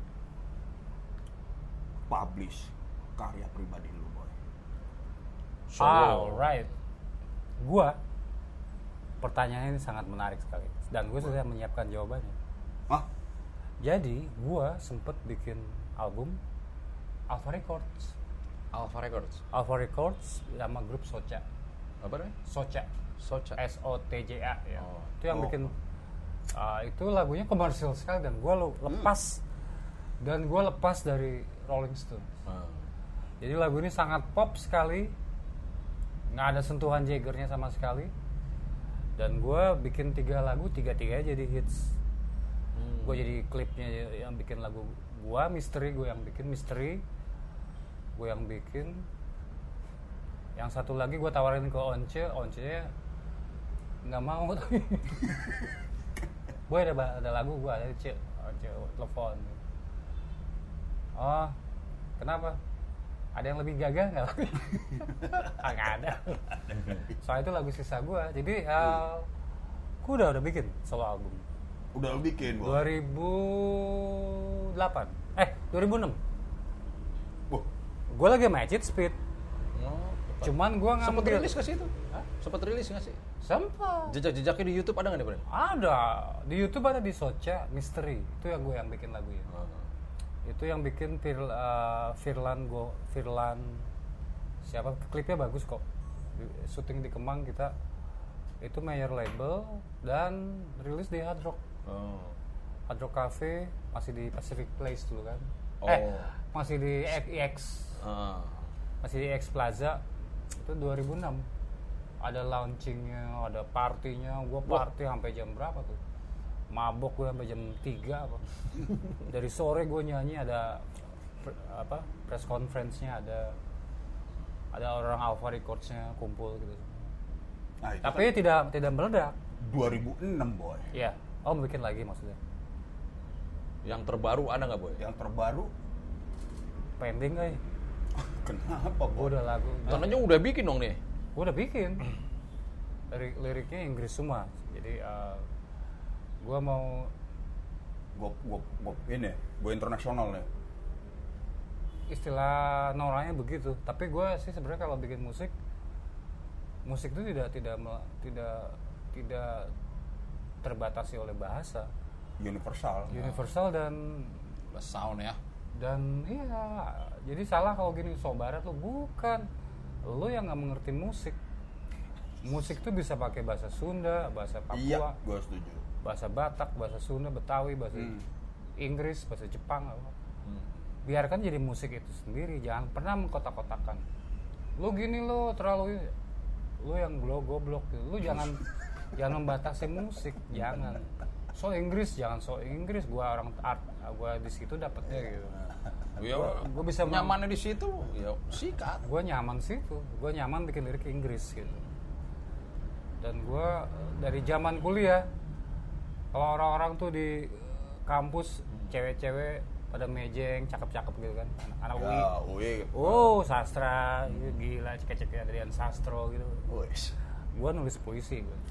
publish karya pribadi lu boy? Alright. Gua pertanyaan ini sangat menarik sekali dan gue sudah menyiapkan jawabannya. Hah? Jadi gua sempet bikin album Alpha Records. Alpha Records. Alpha Records sama grup Socha. Apa namanya? Socha. Socha. S O T J A ya. Oh. Itu yang Oh. bikin uh, itu lagunya komersial sekali dan gua lo lepas dan gue lepas dari Rolling Stones. Ah. Jadi lagu ini sangat pop sekali, nggak ada sentuhan Jaggernya sama sekali. Dan gue bikin tiga lagu, tiga-tiganya jadi hits. Hmm. Gue jadi klipnya yang bikin lagu gue, Misteri gue yang bikin Misteri, gue yang bikin. Yang satu lagi gue tawarin ke Once, Once-nya nggak mau. Gue ada ada lagu gue ada Cek, Once telepon. Oh, kenapa? Ada yang lebih gagah nggak? Nggak ada. Soalnya itu lagu sisa gue. Jadi uh, gue udah udah bikin solo album. Udah lu bikin, Boy? dua ribu delapan Eh, dua ribu enam Wah, Gue lagi sama Acid Speed. Oh, Cuman gue ngambil. sempat rilis nggak sih itu? Sempat rilis nggak sih? Sempat. Jejak-jejaknya di YouTube ada nggak nih, Bro? Ada. Di YouTube ada di Socha, Misteri. Itu yang gue yang bikin lagunya. Oh. Itu yang bikin Fir, uh, Firlan go Firlan siapa, klipnya bagus kok. Di, syuting di Kemang kita. Itu major label dan rilis di Hard Rock. Oh. Hard Rock Cafe masih di Pacific Place dulu kan. Oh. Eh, masih di I X. Ah. Masih di X Plaza. Itu dua ribu enam Ada launchingnya, ada partinya. Gue party sampai jam berapa tuh? Mabok gue sampai jam tiga apa. Dari sore gue nyanyi, ada pre- apa press conference-nya, ada ada orang Alpha Records-nya kumpul gitu. nah itu Tapi kan tidak tidak meledak. dua ribu enam, Boy. Iya. Oh, mau bikin lagi maksudnya. Yang terbaru ada nggak, Boy? Yang terbaru, Pending kali. kenapa, Gue Boy? udah lagu. Tandanya udah bikin dong nih. Gue udah bikin. Lirik liriknya Inggris semua. Jadi uh, gue mau Gue gue gue ini, gue internasional nih. istilah noranya begitu. Tapi gue sih sebenarnya kalau bikin musik, musik itu tidak tidak mel- tidak tidak terbatasi oleh bahasa, Universal. universal dan Sound ya. dan iya. Jadi salah kalau gini, so barat lu, bukan. Lu yang nggak mengerti musik. Musik tuh bisa pakai bahasa Sunda, bahasa Papua, Iya, gue setuju. bahasa Batak, bahasa Sunda, Betawi, bahasa Hmm. Inggris, bahasa Jepang, apa. Hmm. Biarkan jadi musik itu sendiri, jangan pernah mengkotak-kotakan. Lu gini lo terlalu, lu yang lo goblok, lu jangan jangan membatasi musik, jangan. So Inggris, jangan so Inggris. Gua orang art, gua di situ dapetnya gitu. Ya, Gua bisa mem- nyamannya di situ, ya sikat. Gua nyaman situ, gua nyaman bikin lirik Inggris gitu. Dan gua dari zaman kuliah, kalau orang-orang tuh di kampus cewek-cewek pada mejeng, cakep-cakep gitu kan, anak U I. Ya, U I. Oh, sastra, gila, cek-cek Adrian Sastro gitu. Wes. Gua nulis puisi gua.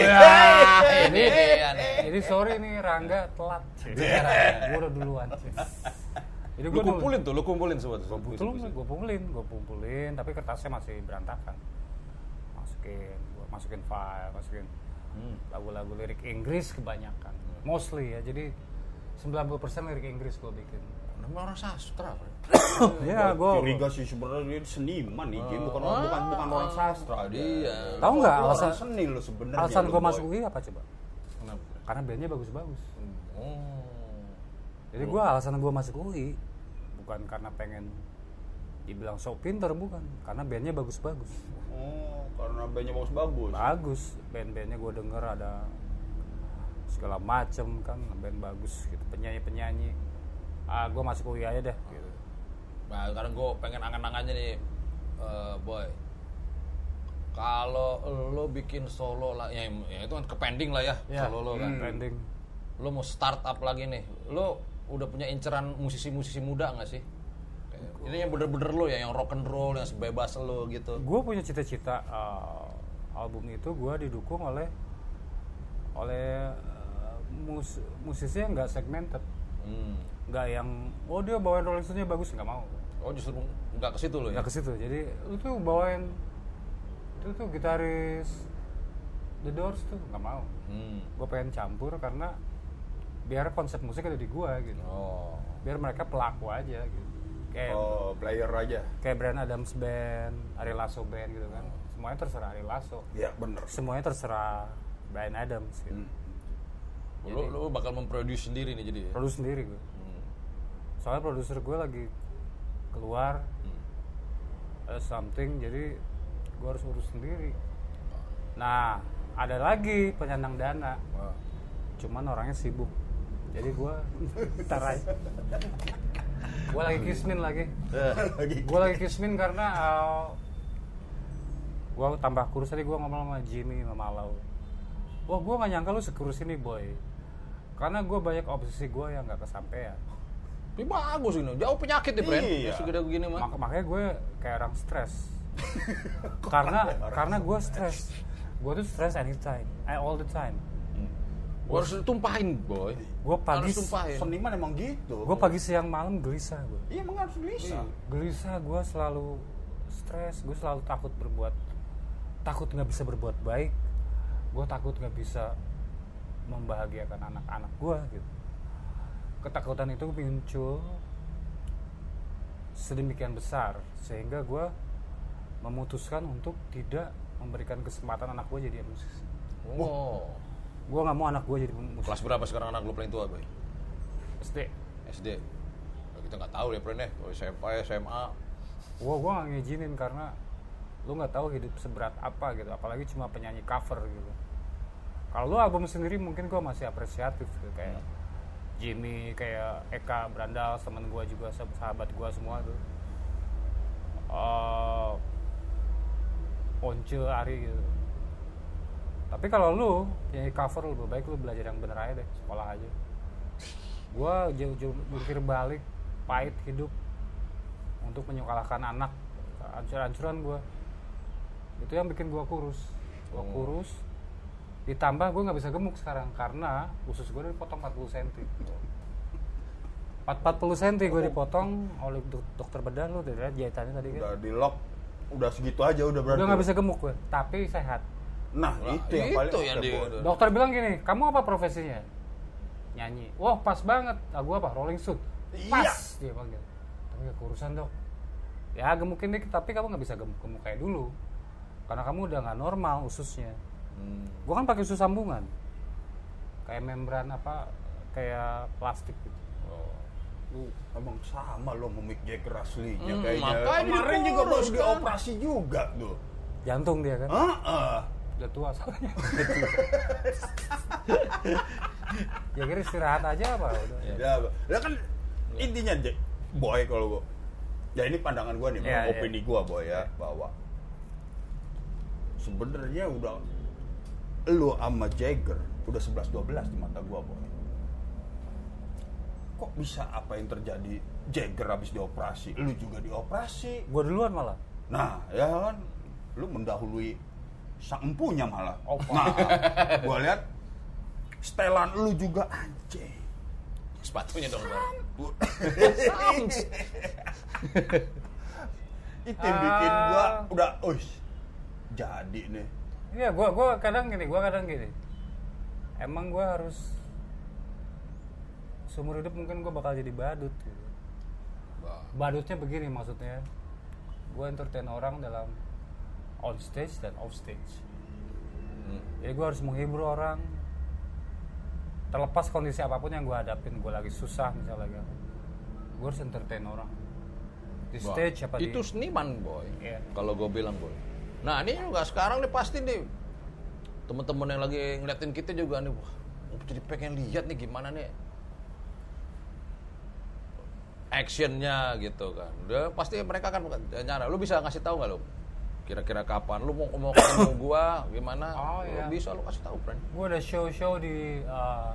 Ini dia nih. Jadi sorry nih Rangga telat. Gua udah duluan. Jadi Lu gua nulis- kumpulin tuh, lu kumpulin semua tuh. Betul, gue kumpulin, gue kumpulin, tapi kertasnya masih berantakan. Masukin, gue masukin file, masukin Hmm. lagu-lagu lirik Inggris kebanyakan, mostly ya. Jadi sembilan puluh persen lirik Inggris gue bikin. Namanya orang sastra. Bro. Iya, gue. Curiga sih sebenarnya dia seniman nih, Jim. bukan orang bukan bukan orang sastra Iya. Tahu nggak Lu alasan orang seni lo sebenarnya. alasan lu, gue Boy. masuk U I apa coba? Kenapa? Karena bandnya bagus-bagus. Oh. Jadi gue alasan gue masuk U I bukan karena pengen dibilang sok pinter, bukan, karena bandnya bagus-bagus. Oh, karena bandnya bagus-bagus. Bagus, band-bandnya gue denger ada segala macem kan, band bagus gitu, penyanyi-penyanyi. Ah, gue masuk U I aja deh gitu. Nah, sekarang gue pengen angan-angannya nih, eh, Boy. Kalau lo bikin solo lah, ya, ya itu kan kepending lah ya, solo lo kan. Trending. Lo mau start up lagi nih, lo udah punya inceran musisi-musisi muda nggak sih? Kayak, ini yang bener-bener lo ya, yang rock and roll, yang sebebas lo gitu. Gue punya cita-cita uh, album itu gue didukung oleh oleh uh, mus- musisi yang nggak segmented, Hmm. nggak yang oh dia bawain Rolling Stones-nya bagus, nggak mau. Oh justru nggak ke situ lo ya? Nggak ke situ. Jadi lu tuh bawain itu tuh gitaris The Doors tuh nggak mau. Hmm. Gue pengen campur karena biar konsep musik ada di gue gitu. Oh. Biar mereka pelaku aja gitu. Kayak Oh, player aja. kayak Bryan Adams Band, Ari Lasso Band gitu kan. Semuanya terserah Ari Lasso. Iya, bener. Semuanya terserah Bryan Adams gitu. Hmm. Lo, lo bakal memproduce sendiri nih jadi. Ya? Produce sendiri gue. Hmm. soalnya produser gue lagi keluar Hmm. ada something, jadi gue harus urus sendiri. Nah, ada lagi penyandang dana, Wah. cuman orangnya sibuk, jadi gue ntar aja. Gue lagi kismin lagi, Lagi gue lagi kismin karena uh, gue tambah kurus. Tadi gue ngomong sama Jimmy sama Malau, wah gue nggak nyangka lu sekurus ini boy, karena gue banyak obsesi gue yang nggak kesampaian. Ini bagus ini, jauh penyakit nih, Bren. Iya. Segede begini mah. Mak- makanya gue kayak orang stres. karena karena gue stres, gue tuh stres anytime, I all the time. Gua harus tumpahin, boy. Gue pagi, Harus tumpahin. seniman emang gitu. gue pagi siang malam gelisah gue. Iya emang harus gelisah. Gelisah, gue selalu stres, gue selalu takut berbuat, takut nggak bisa berbuat baik, gue takut nggak bisa membahagiakan anak-anak gue gitu. Ketakutan itu muncul sedemikian besar sehingga gue memutuskan untuk tidak memberikan kesempatan anak gue jadi musisi. Oh. Gue nggak mau anak gue jadi musisi. Kelas berapa sekarang anak lu paling tua, boy? S D. S D. Nah, kita nggak tahu ya, Bren ya. Kalau S M P, S M A. Gue gue nggak ngizinin karena lu nggak tahu hidup seberat apa gitu, apalagi cuma penyanyi cover gitu. Kalau lu album sendiri mungkin gue masih apresiatif gitu, kayak Jimmy, kayak Eka Brandal, temen gue juga, sahabat gue semua tuh. Uh, Once, Ari gitu. Tapi kalau lu penyanyi cover, lebih baik lu belajar yang bener aja deh, sekolah aja. Gue jauh-jauh jungkir balik, pahit hidup untuk menyekolahkan anak, hancur-hancuran gue. Itu yang bikin gue kurus. Gue kurus, ditambah gue nggak bisa gemuk sekarang karena usus gue dipotong empat puluh sentimeter. empat puluh sentimeter gue dipotong oleh dok- dokter bedah. Lu udah lihat jahitannya tadi kan? Udah di lock, udah segitu aja udah berarti. Udah nggak bisa gemuk gue, tapi sehat. Nah, Nah, itu yang itu paling yang oke, di- Boy. Dokter bilang gini, kamu apa profesinya? Nyanyi. Wah pas banget. Ah, gue apa? Rolling Stone. Pas. Iya. Dia panggil. Tapi gak kurusan dok. Ya gemukin dikit, tapi kamu nggak bisa gemuk-gemuk kayak dulu. Karena kamu udah nggak normal ususnya. Hmm. Gue kan pakai usus sambungan. Kayak membran apa? Kayak plastik gitu. Oh. Lu emang sama lo sama Mick Jagger aslinya Hmm, kayaknya. makanya Kemarin juga dikurus, baru kan? dioperasi juga tuh. Jantung dia kan. Heeh. Udah tua soalnya. Ya kira istirahat aja apa? Udah. Ya, ya kan intinya Jack, Boy kalau gua. Ya ini pandangan gua nih, Ya, opini gua Boy ya, bahwa sebenarnya udah lu sama Jagger udah sebelas dua belas di mata gua Boy. Kok bisa apa yang terjadi? Jagger habis dioperasi, lu juga dioperasi. Gue duluan malah. Nah, ya kan, lu mendahului sang empunya malah. Opa. Nah, gua lihat setelan lu juga anjing. Sepatunya dong, Bren. Itu yang bikin gua udah, uish, jadi nih. Iya, gua gua kadang gini, gua kadang gini. Emang gua harus seumur hidup mungkin gua bakal jadi badut gitu. Wah. Badutnya begini maksudnya. Gua entertain orang dalam on stage dan off stage. Hmm. Jadi gua harus menghibur orang. Terlepas kondisi apapun yang gua hadapin, gua lagi susah misalnya, gua harus entertain orang. Di Wah, stage apa itu di seniman, boy. Iya. Kalau gue bilang, boy. Nah, ini juga sekarang nih pasti nih teman-teman yang lagi ngeliatin kita juga nih, wah, gue jadi pengen lihat nih gimana nih actionnya gitu kan. Udah pasti mereka kan nyara. Lu bisa ngasih tahu nggak lu? Kira-kira kapan lu mau mau ketemu gua gimana? Oh, Lu iya. bisa lu kasih tahu, friend. Gue ada show-show di uh,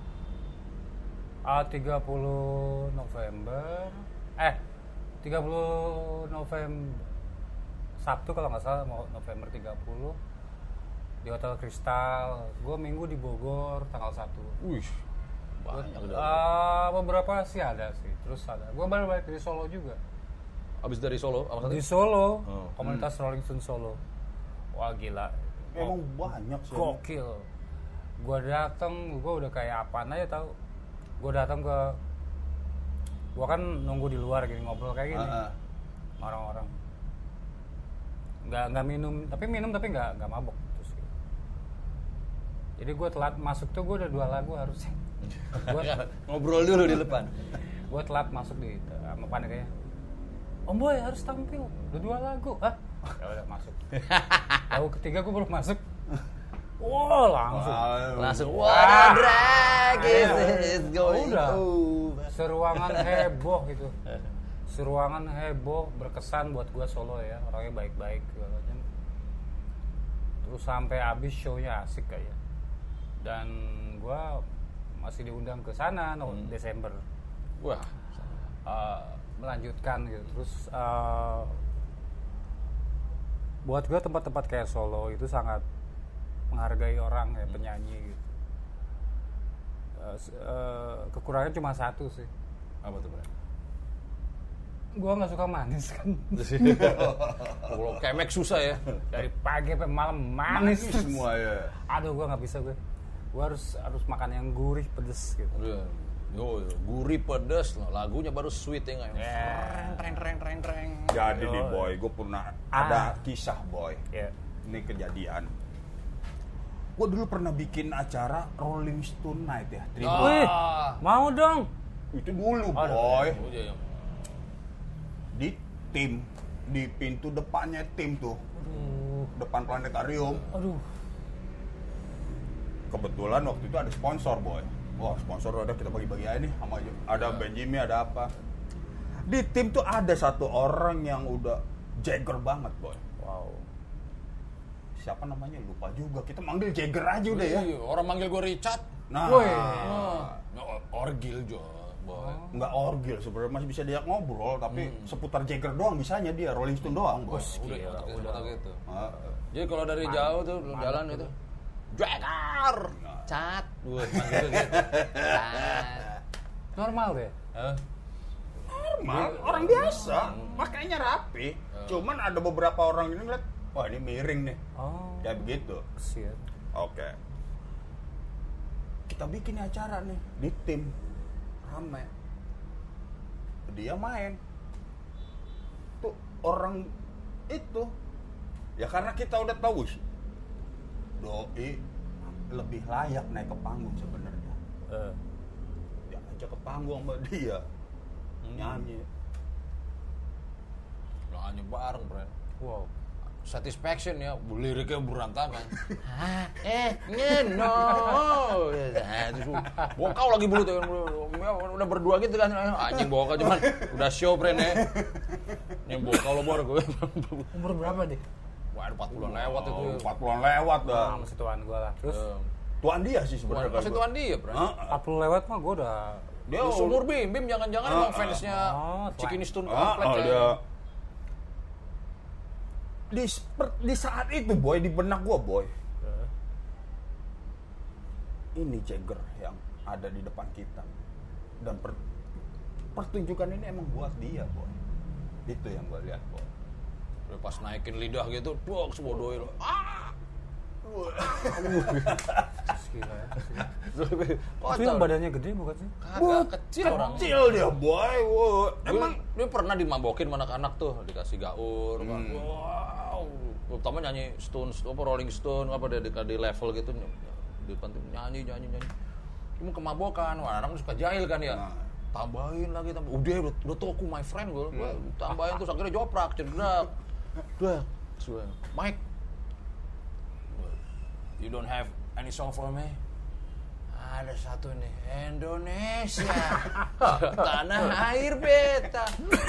uh, tiga puluh November eh tiga puluh November Sabtu kalau nggak salah, mau November tiga puluh di Hotel Kristal. Gue minggu di Bogor tanggal satu. Wih, banyak udah. Uh, beberapa sih ada sih, terus ada. Gue baru balik dari Solo juga. Abis dari Solo, apa Di tadi? Solo, Oh. komunitas Rolling Stone Solo. Wah gila, Emang banyak sih. gokil. Gue dateng, gue udah kayak apaan aja tau. Gue datang ke, gue kan nunggu di luar gini ngobrol kayak gini, Ah, ah. sama orang-orang. Nggak nggak minum, tapi minum tapi nggak nggak mabok. Terus, gitu. Jadi gue telat masuk tuh, gue udah dua lagu harusnya. Gue Ngobrol dulu di depan. gue telat masuk di sama paniknya. Om Boy harus tampil, udah dua lagu. Hah? Ya udah masuk. Lagu ketiga gue baru masuk. Wow, langsung. Langsung what a drag is this going Udah. over. Seruangan heboh gitu. Seruangan heboh, berkesan buat gue solo ya. Orangnya baik-baik segala macam. Terus sampai habis show-nya asik kayak. Dan gue masih diundang ke sana no, Hmm. Desember. Wah, Uh, melanjutkan gitu. Terus uh, buat gue tempat-tempat kayak Solo itu sangat menghargai orang ya, penyanyi gitu. Uh, s- uh, kekurangannya cuma satu sih. apa tuh, Bro? Gue nggak suka manis kan. Kalau kemek susah ya. Dari pagi sampai malam manis, Manis semua ya. Aduh, gue nggak bisa gue. Gue harus harus makan yang gurih, pedes gitu. Udah. Yo, yo, gurih pedes loh. Lagunya baru sweet ya nggak? Ya. Treng treng treng treng. Jadi Yo. nih boy, gue pernah Ah. ada kisah boy. Ya. Ini kejadian. Gue dulu pernah bikin acara Rolling Stone Night ya. Tribute. Wih, Ah. mau dong. Itu dulu Aduh. boy. Oh, iya, iya. Di tim, di pintu depannya tim tuh, Aduh, depan planetarium. aduh. Kebetulan waktu itu ada sponsor boy. Wah, sponsor ada, kita bagi-bagi aja nih sama aja. Ada Ben Jimmy, ada apa. Di tim tuh ada satu orang yang udah Jagger banget boy. Wow. Siapa namanya lupa juga. Kita manggil Jagger aja udah ya. Iya, orang manggil gue Richard. Nah, Woi. Wah, oh, orgil jo, boy. nggak orgil sebenarnya, masih bisa diajak ngobrol, tapi seputar Jagger doang bisanya dia, Rolling Stone doang boy. Udah, Gila, otak- udah. otak gitu. Ah, Jadi kalau dari jauh tuh lu jalan itu, Jagger, cat, gue manggil gitu. Cat. Normal deh. Hah? normal, orang biasa, makanya rapi. Cuman ada beberapa orang ini ngeliat, wah ini miring nih, Oh, kayak begitu. kesian. Oke. Kita bikin acara nih di tim rame. Dia main. Tuh orang itu ya karena kita udah tahu sih. Doi lebih layak naik ke panggung sebenarnya. Eh, Ya aja ke panggung sama dia. Nyanyi. Nyanyi bareng, bro. wow. Satisfaction ya, liriknya berantakan. Hah, eh, ngeno. Nah, terus bokau lagi bulu tuh, udah berdua gitu kan, anjing bokau cuman udah show friend ya. Yang bokau lo bor gue. Umur berapa deh? Wah, empat puluhan lewat itu. Oh, empat puluhan lewat dah. Ah, masih tuan gue lah. Terus Eh, Tuan dia sih sebenarnya. Masih tuan dia, bro. Heeh. empat puluh lewat mah gue udah. Dia Dia seumur Bim, Bim jangan-jangan Ah, emang ah, fansnya oh, Cikini Stone Ah, komplek oh, ya. dia. Di, seper- di saat itu boy, di benak gua boy, Eh, ini Jagger yang ada di depan kita, dan per- pertunjukan ini emang buat dia boy. Itu yang gua lihat boy. Udah pas naikin lidah gitu, dok semua doi lo. Ah! gila ya. Kocak. Itu yang badannya gede bukan sih? Kagak kecil orang. Kecil dia boy. Wow. Emang Emang dia pernah dimabokin sama anak-anak tuh, dikasih gaur, kan. Hmm. Wow. Terutama nyanyi Stones, apa Rolling Stone, apa dia di, di level gitu, di depan tuh nyanyi, nyanyi, nyanyi. Cuma kemabokan, wah orang suka jahil kan ya. Nah. Tambahin lagi, tambahin. Udah, udah, udah toku my friend gue, gua tambahin terus akhirnya joprak, cedrak. Udah, sudah. Mike, you don't have any song for me? Ada satu nih, Indonesia, tanah air beta.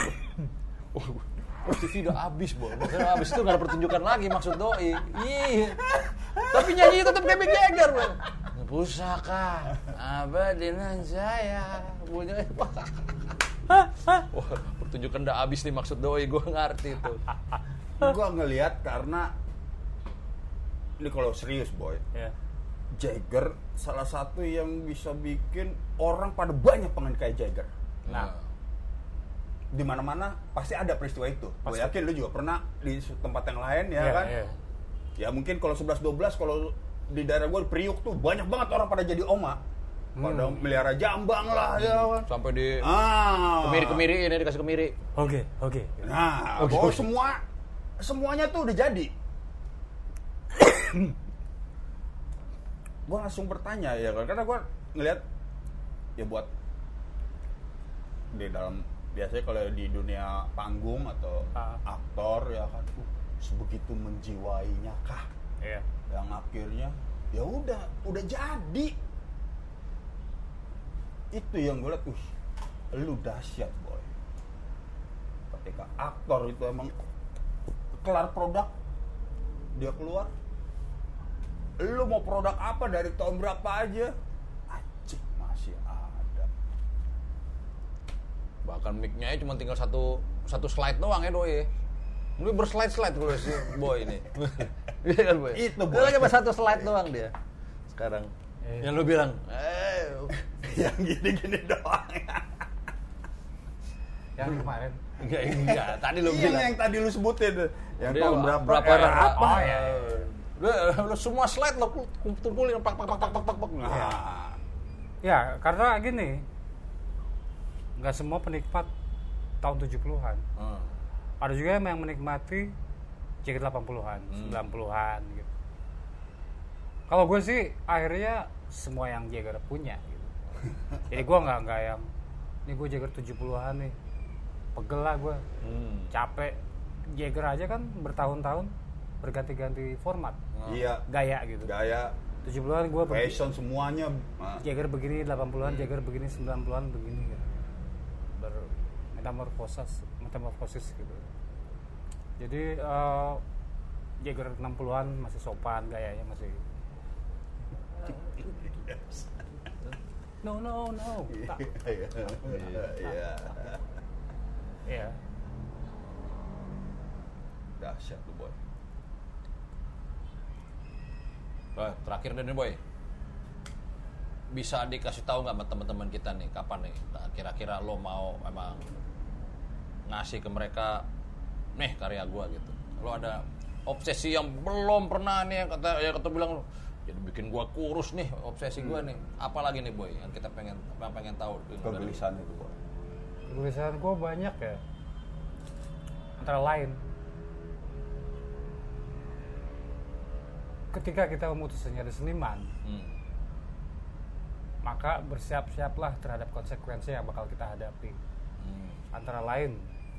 Oh, T V udah abis, Bo. Karena abis itu gak ada pertunjukan lagi maksud doi. Iya. Tapi nyanyi tetap kayak Mick Jagger, Bo. Pusaka abadinan saya. Bunyi. Wah, pertunjukan udah abis nih maksud doi, gue ngerti tuh. gua ngelihat karena ini kalau serius boy, Ya. Jagger salah satu yang bisa bikin orang pada banyak pengen kayak Jagger. Nah, Di mana-mana pasti ada peristiwa itu. Gue yakin lu juga pernah di tempat yang lain ya Iya, kan? iya. Ya mungkin kalau sebelas dua belas kalau di daerah gue Priuk tuh banyak banget orang pada jadi oma. Pada melihara jambang lah ya kan. sampai di Ah. kemiri-kemiri ini dikasih kemiri. Oke, oke. Nah, Oke, bahwa oke. semua semuanya tuh udah jadi. Gue langsung bertanya ya kan, karena gue ngeliat ya buat di dalam biasanya kalau di dunia panggung atau Ah. aktor ya kan uh, sebegitu menjiwainya kah Iya. yang akhirnya ya udah udah jadi itu yang gue liat uh lu dahsyat boy ketika aktor itu emang kelar produk dia keluar lu mau produk apa dari tahun berapa aja anjing masih ada Bahkan mic-nya cuma tinggal satu satu slide doang ya doi. Ini berslide-slide kalau si boy ini. Iya kan boy? Itu, Boy. Dia lagi pas satu slide doang dia. Sekarang. Eh. Yang lu bilang, eh yang gini-gini doang Yang kemarin. enggak enggak, tadi lu iya bilang. yang tadi lu sebutin tuh yang Dia tahun berapa berapa era era? apa Oh, iya, iya. Lu, lu semua slide lo kumpulin pak pak pak pak pak pak pak. Nah, Ya, karena gini. Nggak semua penikmat tahun tujuh puluhan. Hmm. Ada juga yang menikmati jaket delapan puluhan, sembilan puluhan gitu. Kalau gue sih akhirnya semua yang Jagger punya gitu. Jadi gue nggak nggak yang ini gue Jagger tujuh puluhan nih. Pegel lah gue. Hmm. Capek. Jagger aja kan bertahun-tahun berganti-ganti format. iya Gaya gitu. gaya tujuh puluhan gue fashion semuanya nah, Jagger begini, delapan puluhan, Jagger begini, sembilan puluhan begini gitu. Ber metamorfosis, metamorfosis gitu. Jadi uh, Jagger enam puluhan masih sopan, gayanya masih no no no. Tak. iya iya Iya. dahsyat tuh boy Nah, terakhir deh nih boy. Bisa dikasih tahu nggak sama teman-teman kita nih kapan nih? Nah, kira-kira lo mau emang ngasih ke mereka nih karya gua gitu. Lo ada obsesi yang belum pernah nih yang kata ya kata bilang lo jadi bikin gua kurus nih obsesi gua nih. Apalagi nih boy yang kita pengen yang pengen tahu. kegelisahan itu boy Tulisan gue banyak ya. Antara lain ketika kita memutuskan jadi seniman, Hmm. maka bersiap-siaplah terhadap konsekuensi yang bakal kita hadapi. Hmm. Antara lain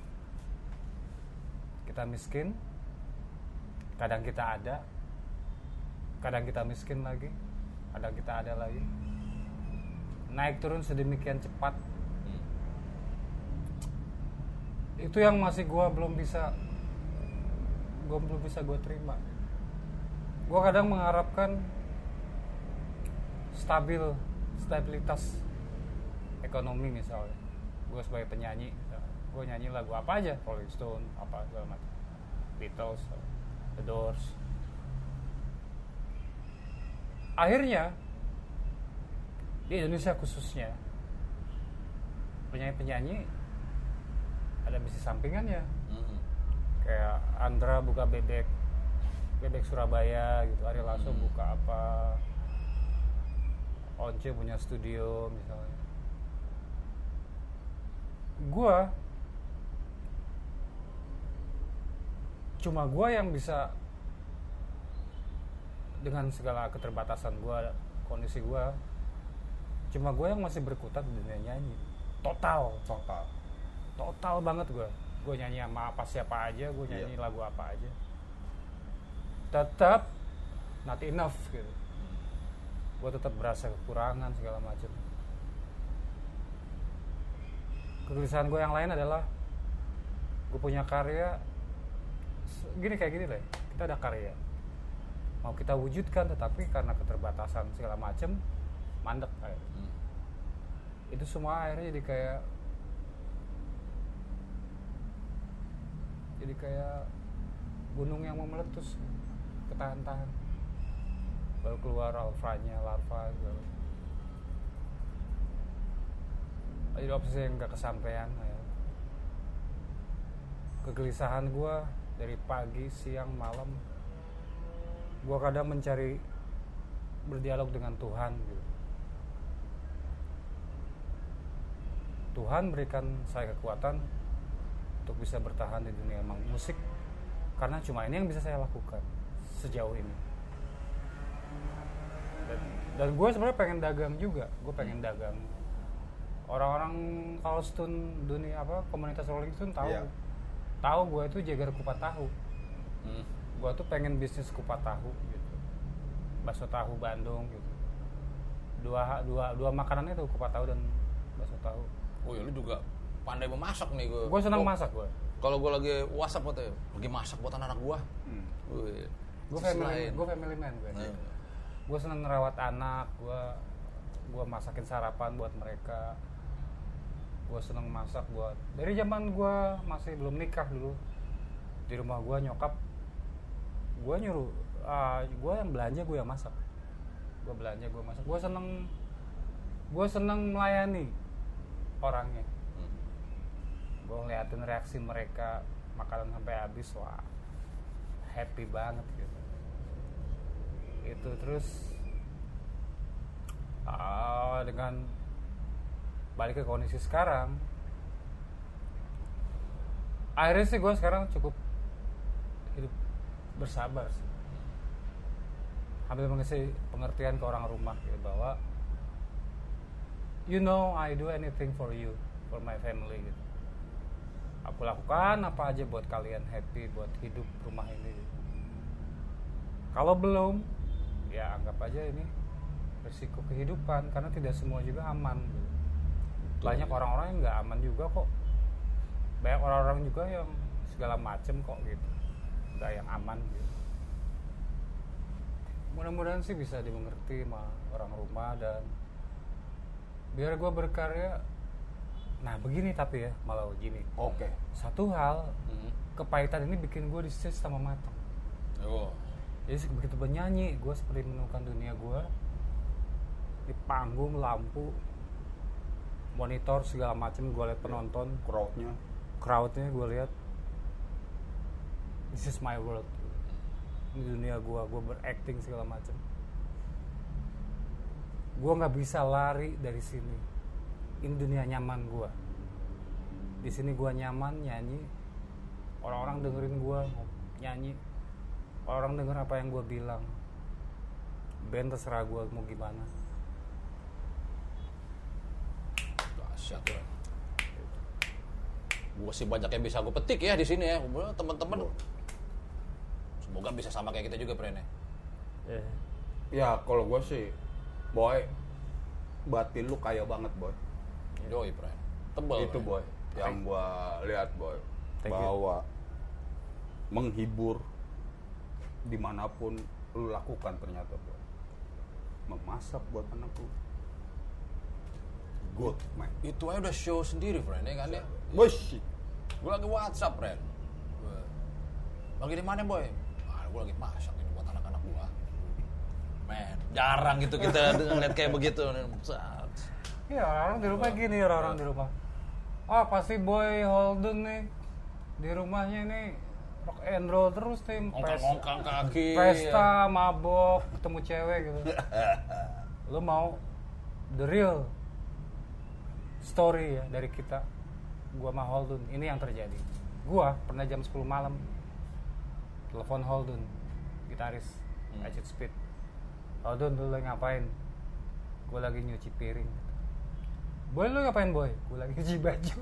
kita miskin, kadang kita ada, kadang kita miskin lagi, kadang kita ada lagi, naik turun sedemikian cepat. Hmm. Itu yang masih gue belum bisa gue belum bisa gue terima. Gue kadang mengharapkan stabil stabilitas ekonomi misalnya. Gue sebagai penyanyi, gue nyanyi lagu apa aja, Rolling Stone, apa segala macam, Beatles, The Doors. Akhirnya di Indonesia khususnya penyanyi-penyanyi ada bisnis sampingannya. Hmm. Kayak Andra buka bebek bebek Surabaya gitu, Ari Lasso Hmm. buka apa, Once punya studio misalnya. Gua cuma gua yang bisa dengan segala keterbatasan gua, kondisi gua, cuma gua yang masih berkutat di dunia nyanyi. Total, total total banget gua. Gua nyanyi sama apa siapa aja, gua nyanyi Iya. lagu apa aja. Tetap not enough gitu. Gue tetap berasa kekurangan segala macam. Kegelisahan gue yang lain adalah gue punya karya gini kayak gini lah. Kita ada karya, mau kita wujudkan, tetapi karena keterbatasan segala macam mandek kayak. Hmm. Itu semua akhirnya jadi kayak jadi kayak gunung yang mau meletus, ketahan-tahan, baru keluar alfanya, larva segala. Jadi obsesi yang gak kesampaian ya. Kegelisahan gue dari pagi, siang, malam, gue kadang mencari berdialog dengan Tuhan gitu. Tuhan berikan saya kekuatan untuk bisa bertahan di dunia emang musik, karena cuma ini yang bisa saya lakukan sejauh ini. Dan, dan gue sebenarnya pengen dagang juga, gue pengen dagang orang-orang kalau stun dunia apa komunitas Rolling Stone tahu. Iya. Tahu gue itu Jagger kupat tahu. Hmm. Gue tuh pengen bisnis kupat tahu gitu. Bakso tahu Bandung gitu. Dua dua dua makanannya tuh kupat tahu dan bakso tahu. Oh ya lu juga pandai memasak nih gue. Gue senang masak gue. Kalau gue lagi WhatsApp atau lagi masak buat anak-anak gue. Hmm. Wih. Gue sisi family, lain. gue family man gue. Nah. Gue seneng ngerawat anak, gue gue masakin sarapan buat mereka. Gue seneng masak buat dari zaman gue masih belum nikah dulu. Di rumah gue nyokap, gue nyuruh, uh, gue yang belanja, gue yang masak. Gue belanja, gue masak. Gue seneng, gue seneng melayani orangnya. Hmm. Gue ngeliatin reaksi mereka makanan sampai habis, wah happy banget gitu. Itu terus uh, dengan balik ke kondisi sekarang, akhirnya sih gue sekarang cukup hidup bersabar sih. Hampir mengasih pengertian ke orang rumah gitu, bahwa you know I do anything for you, for my family gitu. Aku lakukan apa aja buat kalian happy, buat hidup rumah ini gitu. Kalau belum, ya anggap aja ini risiko kehidupan, karena tidak semua juga aman gitu. Banyak orang-orang yang nggak aman juga kok. Banyak orang-orang juga yang segala macem kok gitu, nggak yang aman gitu. Mudah-mudahan sih bisa dimengerti sama orang rumah, dan biar gue berkarya. Nah begini tapi ya, malah gini. Oke. Satu hal, Hmm. kepahitan ini bikin gue di stage sama matang. Oh. Jadi begitu bernyanyi, gue seperti menemukan dunia gue di panggung, lampu, monitor segala macam. Gue lihat penonton, Crowdnya. crowdnya gue lihat. This is my world. Ini dunia gue, gue berakting segala macam. Gue nggak bisa lari dari sini. Ini dunia nyaman gue. Di sini gue nyaman nyanyi. Orang-orang dengerin gue nyanyi. Orang denger apa yang gue bilang. Band terserah gue mau gimana. Dahsyat ya. Gue sih banyak yang bisa gue petik ya di sini ya. Teman-teman. Semoga bisa sama kayak kita juga, Pren ya. Yeah. Ya kalau gue sih, boy, batin lu kaya banget boy. Yoi, Pren. Tebel. Itu Pren. boy, yang gue lihat boy, Thank you. bahwa menghibur dimanapun lu lakukan ternyata boy. Memasak buat anak lu, good man. Itu aja udah show sendiri, Pren ya kan ya. Bos, Gue lagi WhatsApp, Pren. Gua, lagi di mana, boy? Ah, gue lagi masak ini buat anak-anak gue. Men, jarang gitu kita ngeliat kayak begitu. Iya, orang-orang di rumah gini, orang-orang di rumah. Ah, pasti Boy Holden nih di rumahnya nih rock and roll terus nih. Ngongkang-ngongkang kaki. Pesta, mabok, ketemu cewek gitu. Lu mau the real story ya dari kita. Gua sama Holden, ini yang terjadi. Gua pernah jam sepuluh malam telepon Holden, gitaris Hmm. Acid Speed. Holden, lu lagi ngapain? Gua lagi nyuci piring. Boy, lu ngapain, Boy? Gua lagi nyuci baju.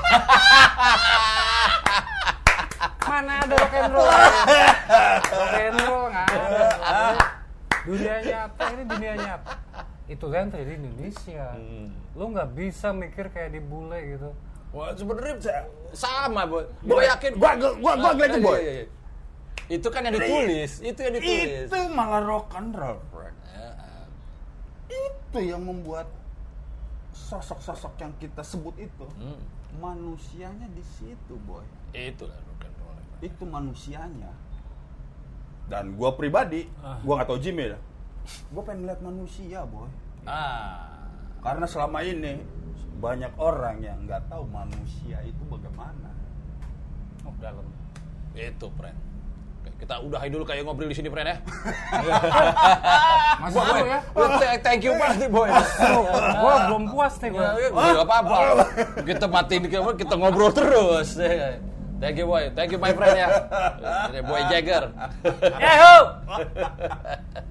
Mana ada rock and roll? Rock and roll nggak ada. Dunia nyata, ini dunia nyata. Itu yang terjadi di Indonesia. Hmm. Lu nggak bisa mikir kayak di bule gitu. Wah, sebenarnya sama, boy. Gue yakin. gua gua gua, gua ngeliatin boy. Iya, iya, iya. Itu kan yang ditulis, itu yang ditulis. Itu malah rock and roll, friend. Ya, Itu yang membuat sosok-sosok yang kita sebut itu hmm. manusianya di situ, boy. Itu lah rock and roll. Itu manusianya. Dan gua pribadi, Ah. gua nggak tahu Jimmy ya. Gua pengen lihat manusia, boy. Ah. Karena selama ini banyak orang yang nggak tahu manusia itu bagaimana. Oh, dalam. Itu, Pren. Oke, kita udahi dulu kayak ngobrol di sini, Pren ya. Masih dulu ya. Wah, th- thank you banget nih, boy. Gua belum puas nih gua. Ya, ya, apa-apa. Kita matiin kita, kita ngobrol terus. Thank you, boy. Thank you, my friend ya. Boy Jagger. Yahoo!